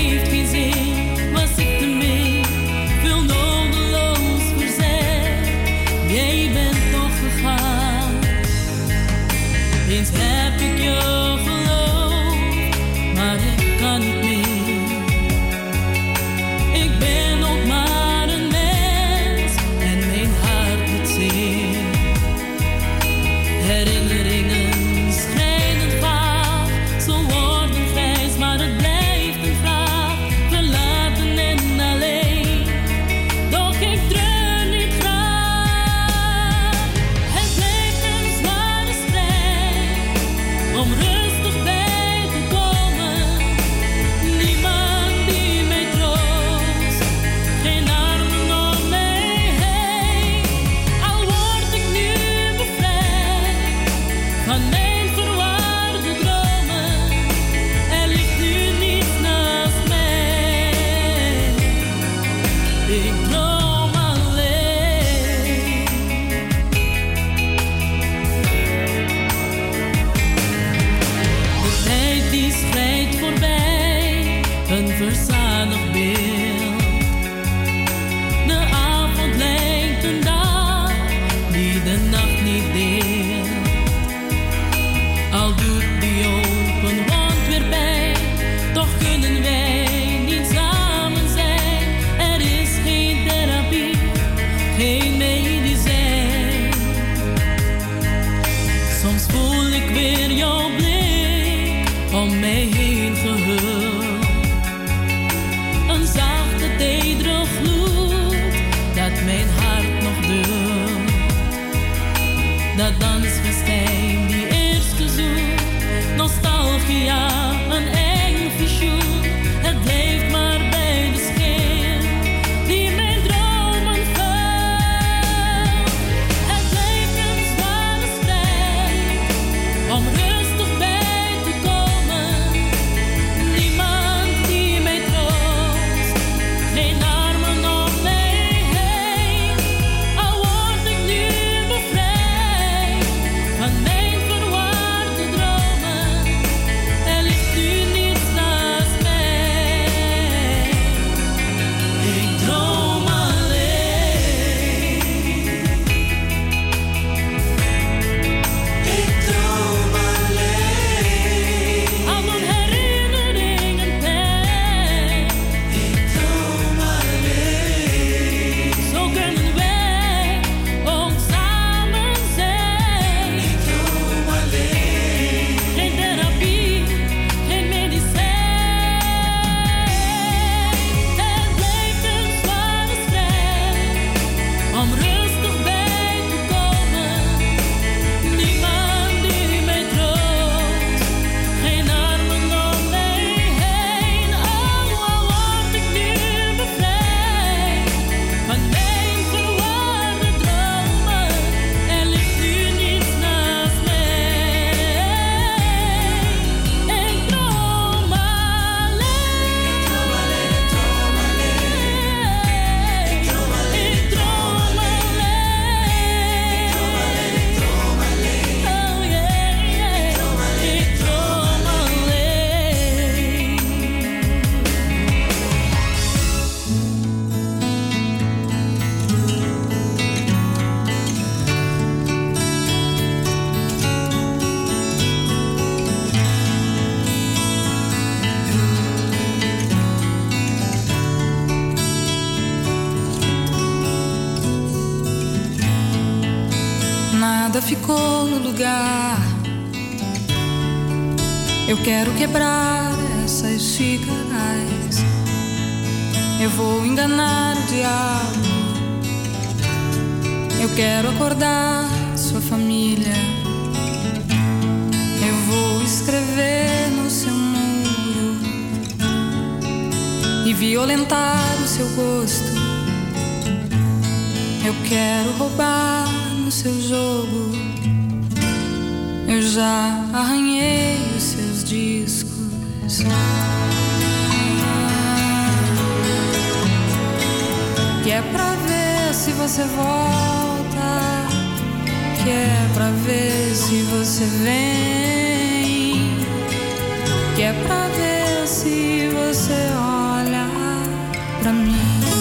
[SPEAKER 14] heeft geen zin, was ik te min. Veel nodeloos verzet, jij bent nog gegaan. Eens heb ik je geloofd, maar ik kan niet meer. Ik ben ook maar een mens en mijn hart doet zeer. Herinneringen schijnen vaag, ze worden grijs, maar het blijft een vraag. Verlaten en alleen, doch ik dreun niet graag. Het blijft een zware strijd om rustig bij te komen. Niemand die mij troost, geen armen om mij heen. Al word ik nu bevrijd van mijn verwarde dromen, er ligt nu niets naast mij. Ik droom alleen. De tijd die schrijdt voorbij, een verzadigd beeld. De avond lijkt een dag die de nacht niet deelt. Al doet die open wond weer pijn, toch kunnen wij niet samen zijn. Er is geen therapie, geen medicijn. Soms voel ik weer jouw blik om mij heen gehuld. Een zachte, tedere gloed dat mijn hart nog duldt. Dat dansfestijn, die eerste zoen, nostalgia, een eng visioen. Het blijft maar bij de schijn die mijn dromen vult. Het blijft een zware strijd om rustig bij te komen. Niemand die mij troost, geen armen om mij heen. Al word ik nu bevrijd van mijn verwarde dromen, er ligt nu niets naast mij. Ik droom alleen. Ik droom alleen. Al mijn herinneringen pijn. Ik droom alleen. Zo kunnen wij ook samen zijn. Ik droom alleen. Geen therapie, geen medicijn. Het blijft een zware strijd om rustig bij te komen. Niemand die mij troost, geen armen om mij heen. Al word ik nu bevrijd van mijn verwarde dromen, er ligt nu niets naast mij. Ik droom alleen. Ik droom alleen. Ik droom alleen. Ik droom alleen. Ik droom alleen. Oh yeah, yeah. Ik droom alleen. Ik droom alleen.
[SPEAKER 15] Nada ficou no lugar. Eu quero quebrar essas xícaras. Eu vou enganar o diabo. Eu quero acordar sua família. Eu vou escrever no seu muro e violentar o seu gosto. Eu quero roubar no seu jogo. Eu já arranhei os seus discos. Que é pra ver se você volta, que é pra ver se você vem, que é pra ver se você olha.
[SPEAKER 17] pra mim.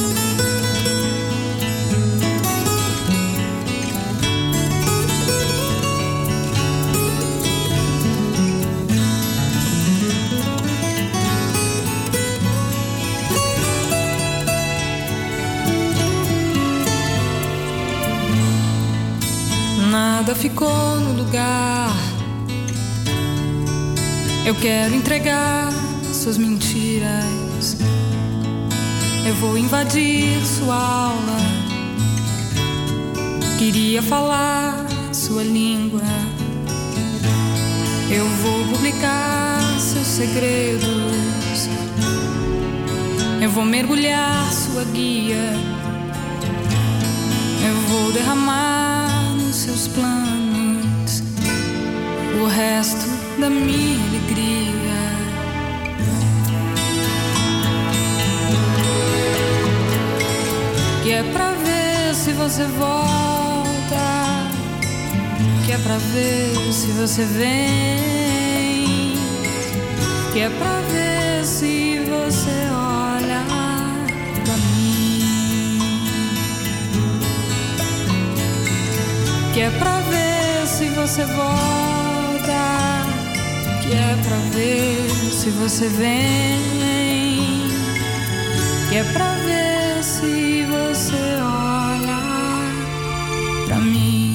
[SPEAKER 17] Nada ficou no lugar. Eu quero entregar suas mentiras. Eu vou invadir sua aula. Queria falar sua língua. Eu vou publicar seus segredos. Eu vou mergulhar sua guia. Eu vou derramar nos seus planos o resto da minha alegria. Que é pra ver se você volta, que é pra ver se você vem, que é pra ver se você olha pra mim, que é pra ver se você volta, que é pra ver se você vem, que é pra ver se você olha pra mim.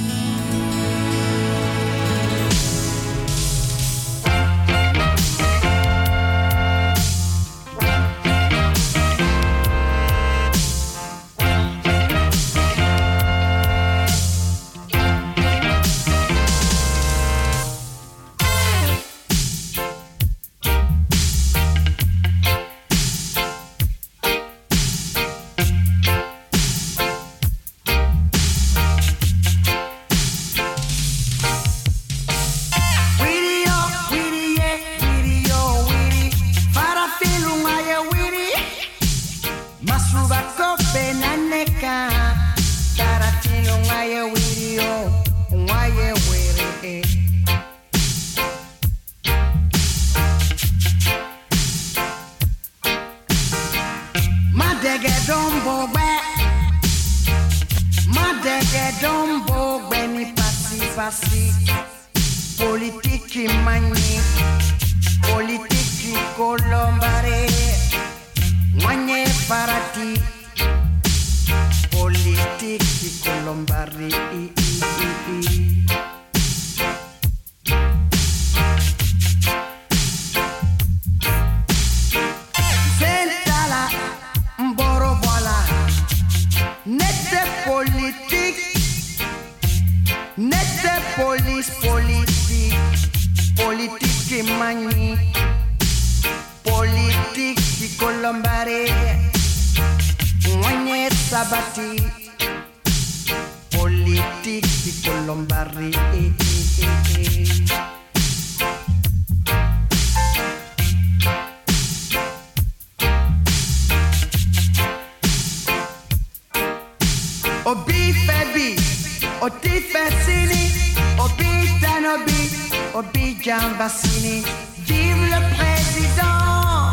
[SPEAKER 18] Vive le président,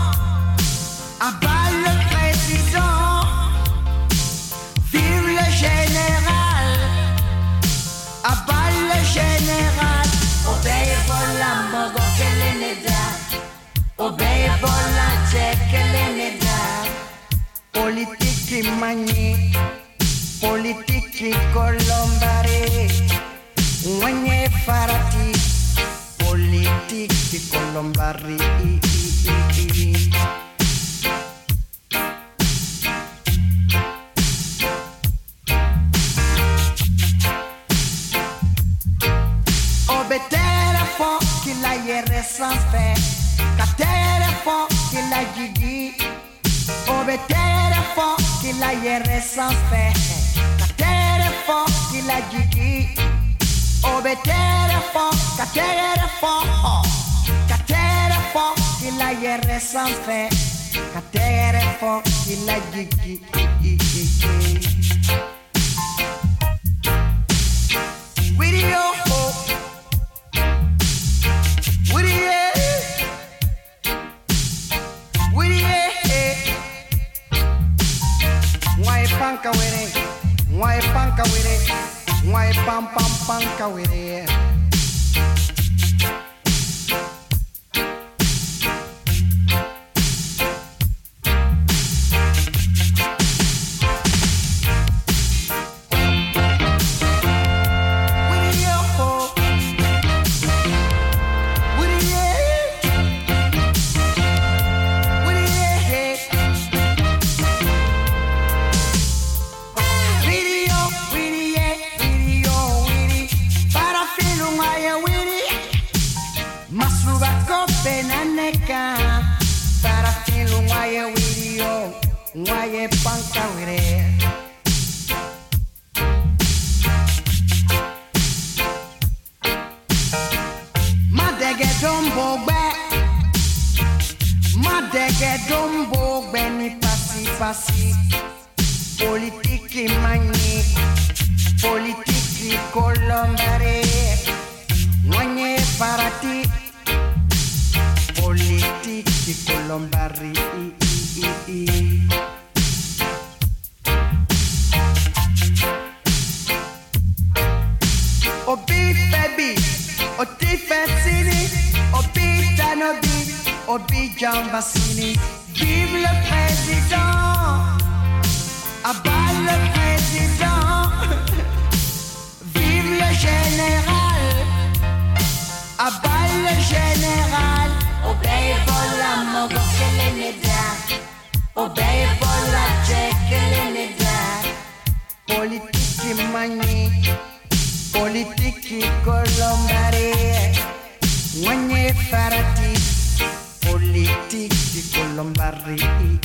[SPEAKER 18] abat le président, vive le général, abat le général. Obeye bola mogo keleneda, obeye bola chekeleneda. Politiki mani, politiki colombare, mwenye farati. Politiki colombari. Obetere fo ki la yere sans fait, katere fo ki la gigi. Obetere fo ki la yere sans fait, katere fo ki la gigi. Obetere fo, katere fo, ki la yere sans fait, katere fo ki la gigi. Video ho, video, video. panka were, mwai panka were, mwai pam pam panka were.
[SPEAKER 19] Politiki mani, politiki colombare, manye farati, politiki colombari. Obi baby, oti fessini, obi tanobi, obi jambasini. Vive le président, abat le président. Vive le général, abat le général. Obey bola mogo que le neda, obey bola que le neda. Politiki mani, politiki colombare, manye farati. Politiki colombari.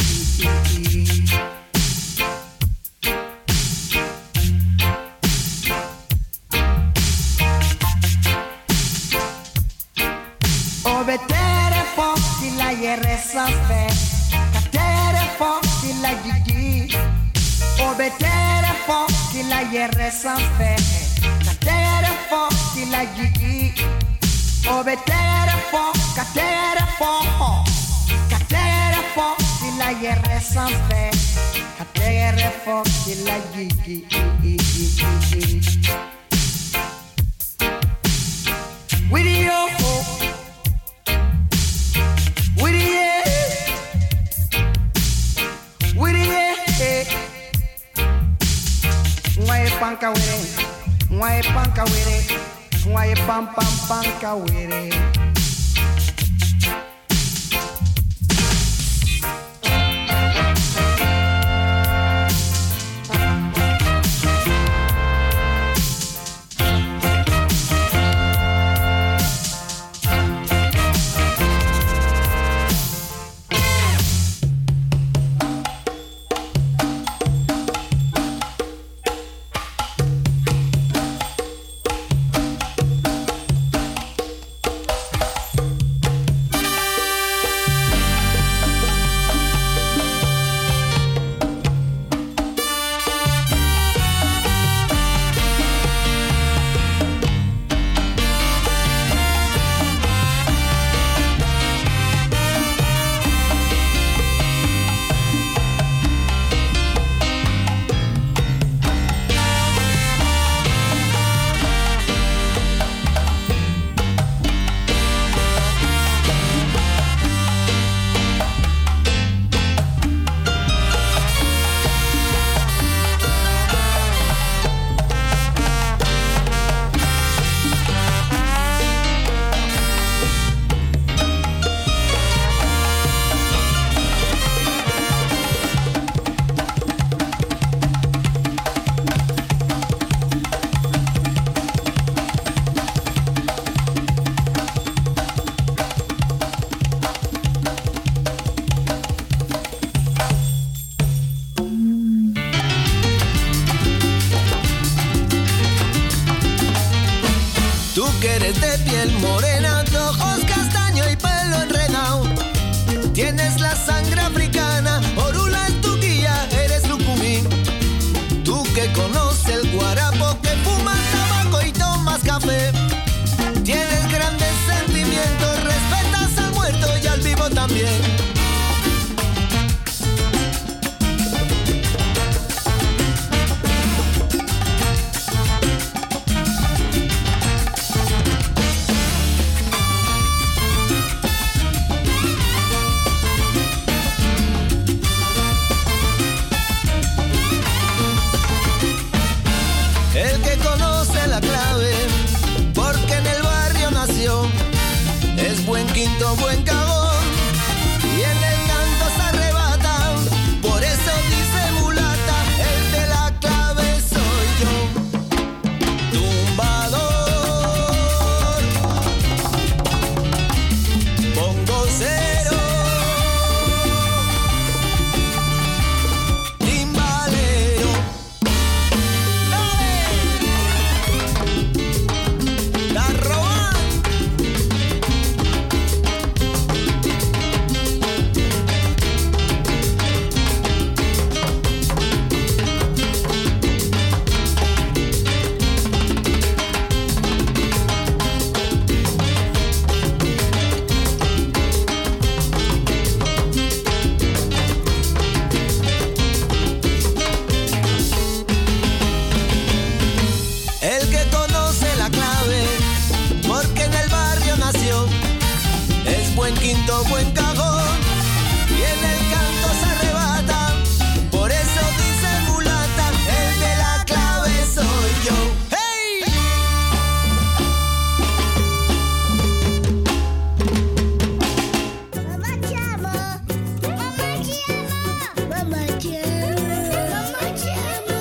[SPEAKER 19] Obetere forti la yere sans faire, catere forti la gigi. Obetere forti la yere sans faire, catere forti la gigi. Obetere forti, catere forti la yere sans faire, catere forti la gigi. With your hope. Panka were, mwai panka were, mwai pam pam panka were.
[SPEAKER 20] De piel morena, de ojos castaño y pelo enredado. Tienes la sangre africana, Orula es tu guía, eres Lucumí. Tú que conoces el guarapo, que fumas tabaco y tomas café. Tienes grandes sentimientos, respetas al muerto y al vivo también. quinto, buen cajón. Y en el canto se arrebata, por eso dice mulata, el de la clave soy yo. Tumbador, bongocero, timbalero. ¡Dale! ¡La roban! El que conoce la clave, porque en el barrio nació, es buen quinto, buen cajón, y en el canto se arrebata, por eso dice mulata, el de la clave soy yo. ¡Hey!
[SPEAKER 21] Mamá te amo, mamá te amo, mamá te amo, mamá te amo,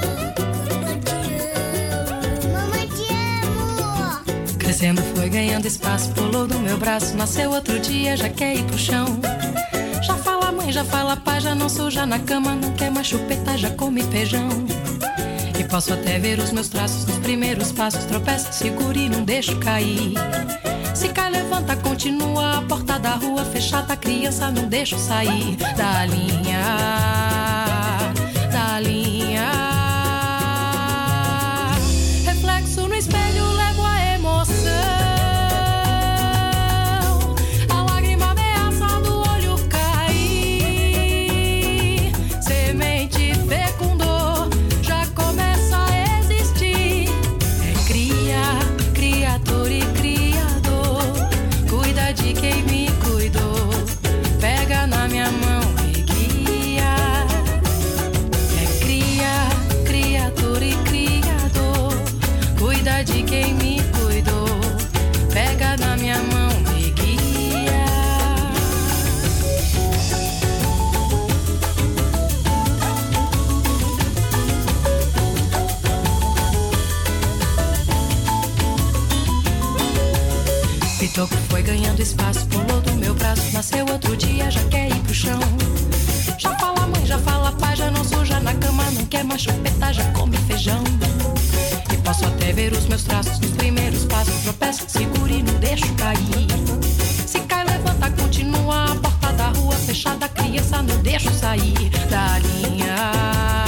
[SPEAKER 21] mamá te amo.
[SPEAKER 17] Crescendo foi ganhando espaço, pulou do meu braço, nasceu outro dia, já quer ir pro chão. Já fala mãe, já fala pai, já não suja na cama, não quer mais chupeta, já come feijão. E posso até ver os meus traços nos primeiros passos, tropeça, segura e não deixo cair. Se cai, levanta, continua, a porta da rua fechada, criança, não deixo sair da linha, da linha. Reflexo no espelho, levo a emoção. A lágrima ameaça do olho cair. Semente fecundou, já começa a existir. É cria, criador e criador. Cuida de quem me cuidou. Pega na minha mão e guia. É cria, criador e criador. Cuida de quem me cuidou. Pega na minha mão e guia. Pitoco foi ganhando espaço, pulou do meu braço, nasceu outro dia, já quer ir pro chão. Já fala mãe, já fala pai, já não suja na cama, não quer mais chupeta, já come feijão. E posso até ver os meus traços nos primeiros passos, tropeço, seguro e não deixo cair. Se cai, levanta, continua, a porta da rua fechada, criança, não deixo sair da linha.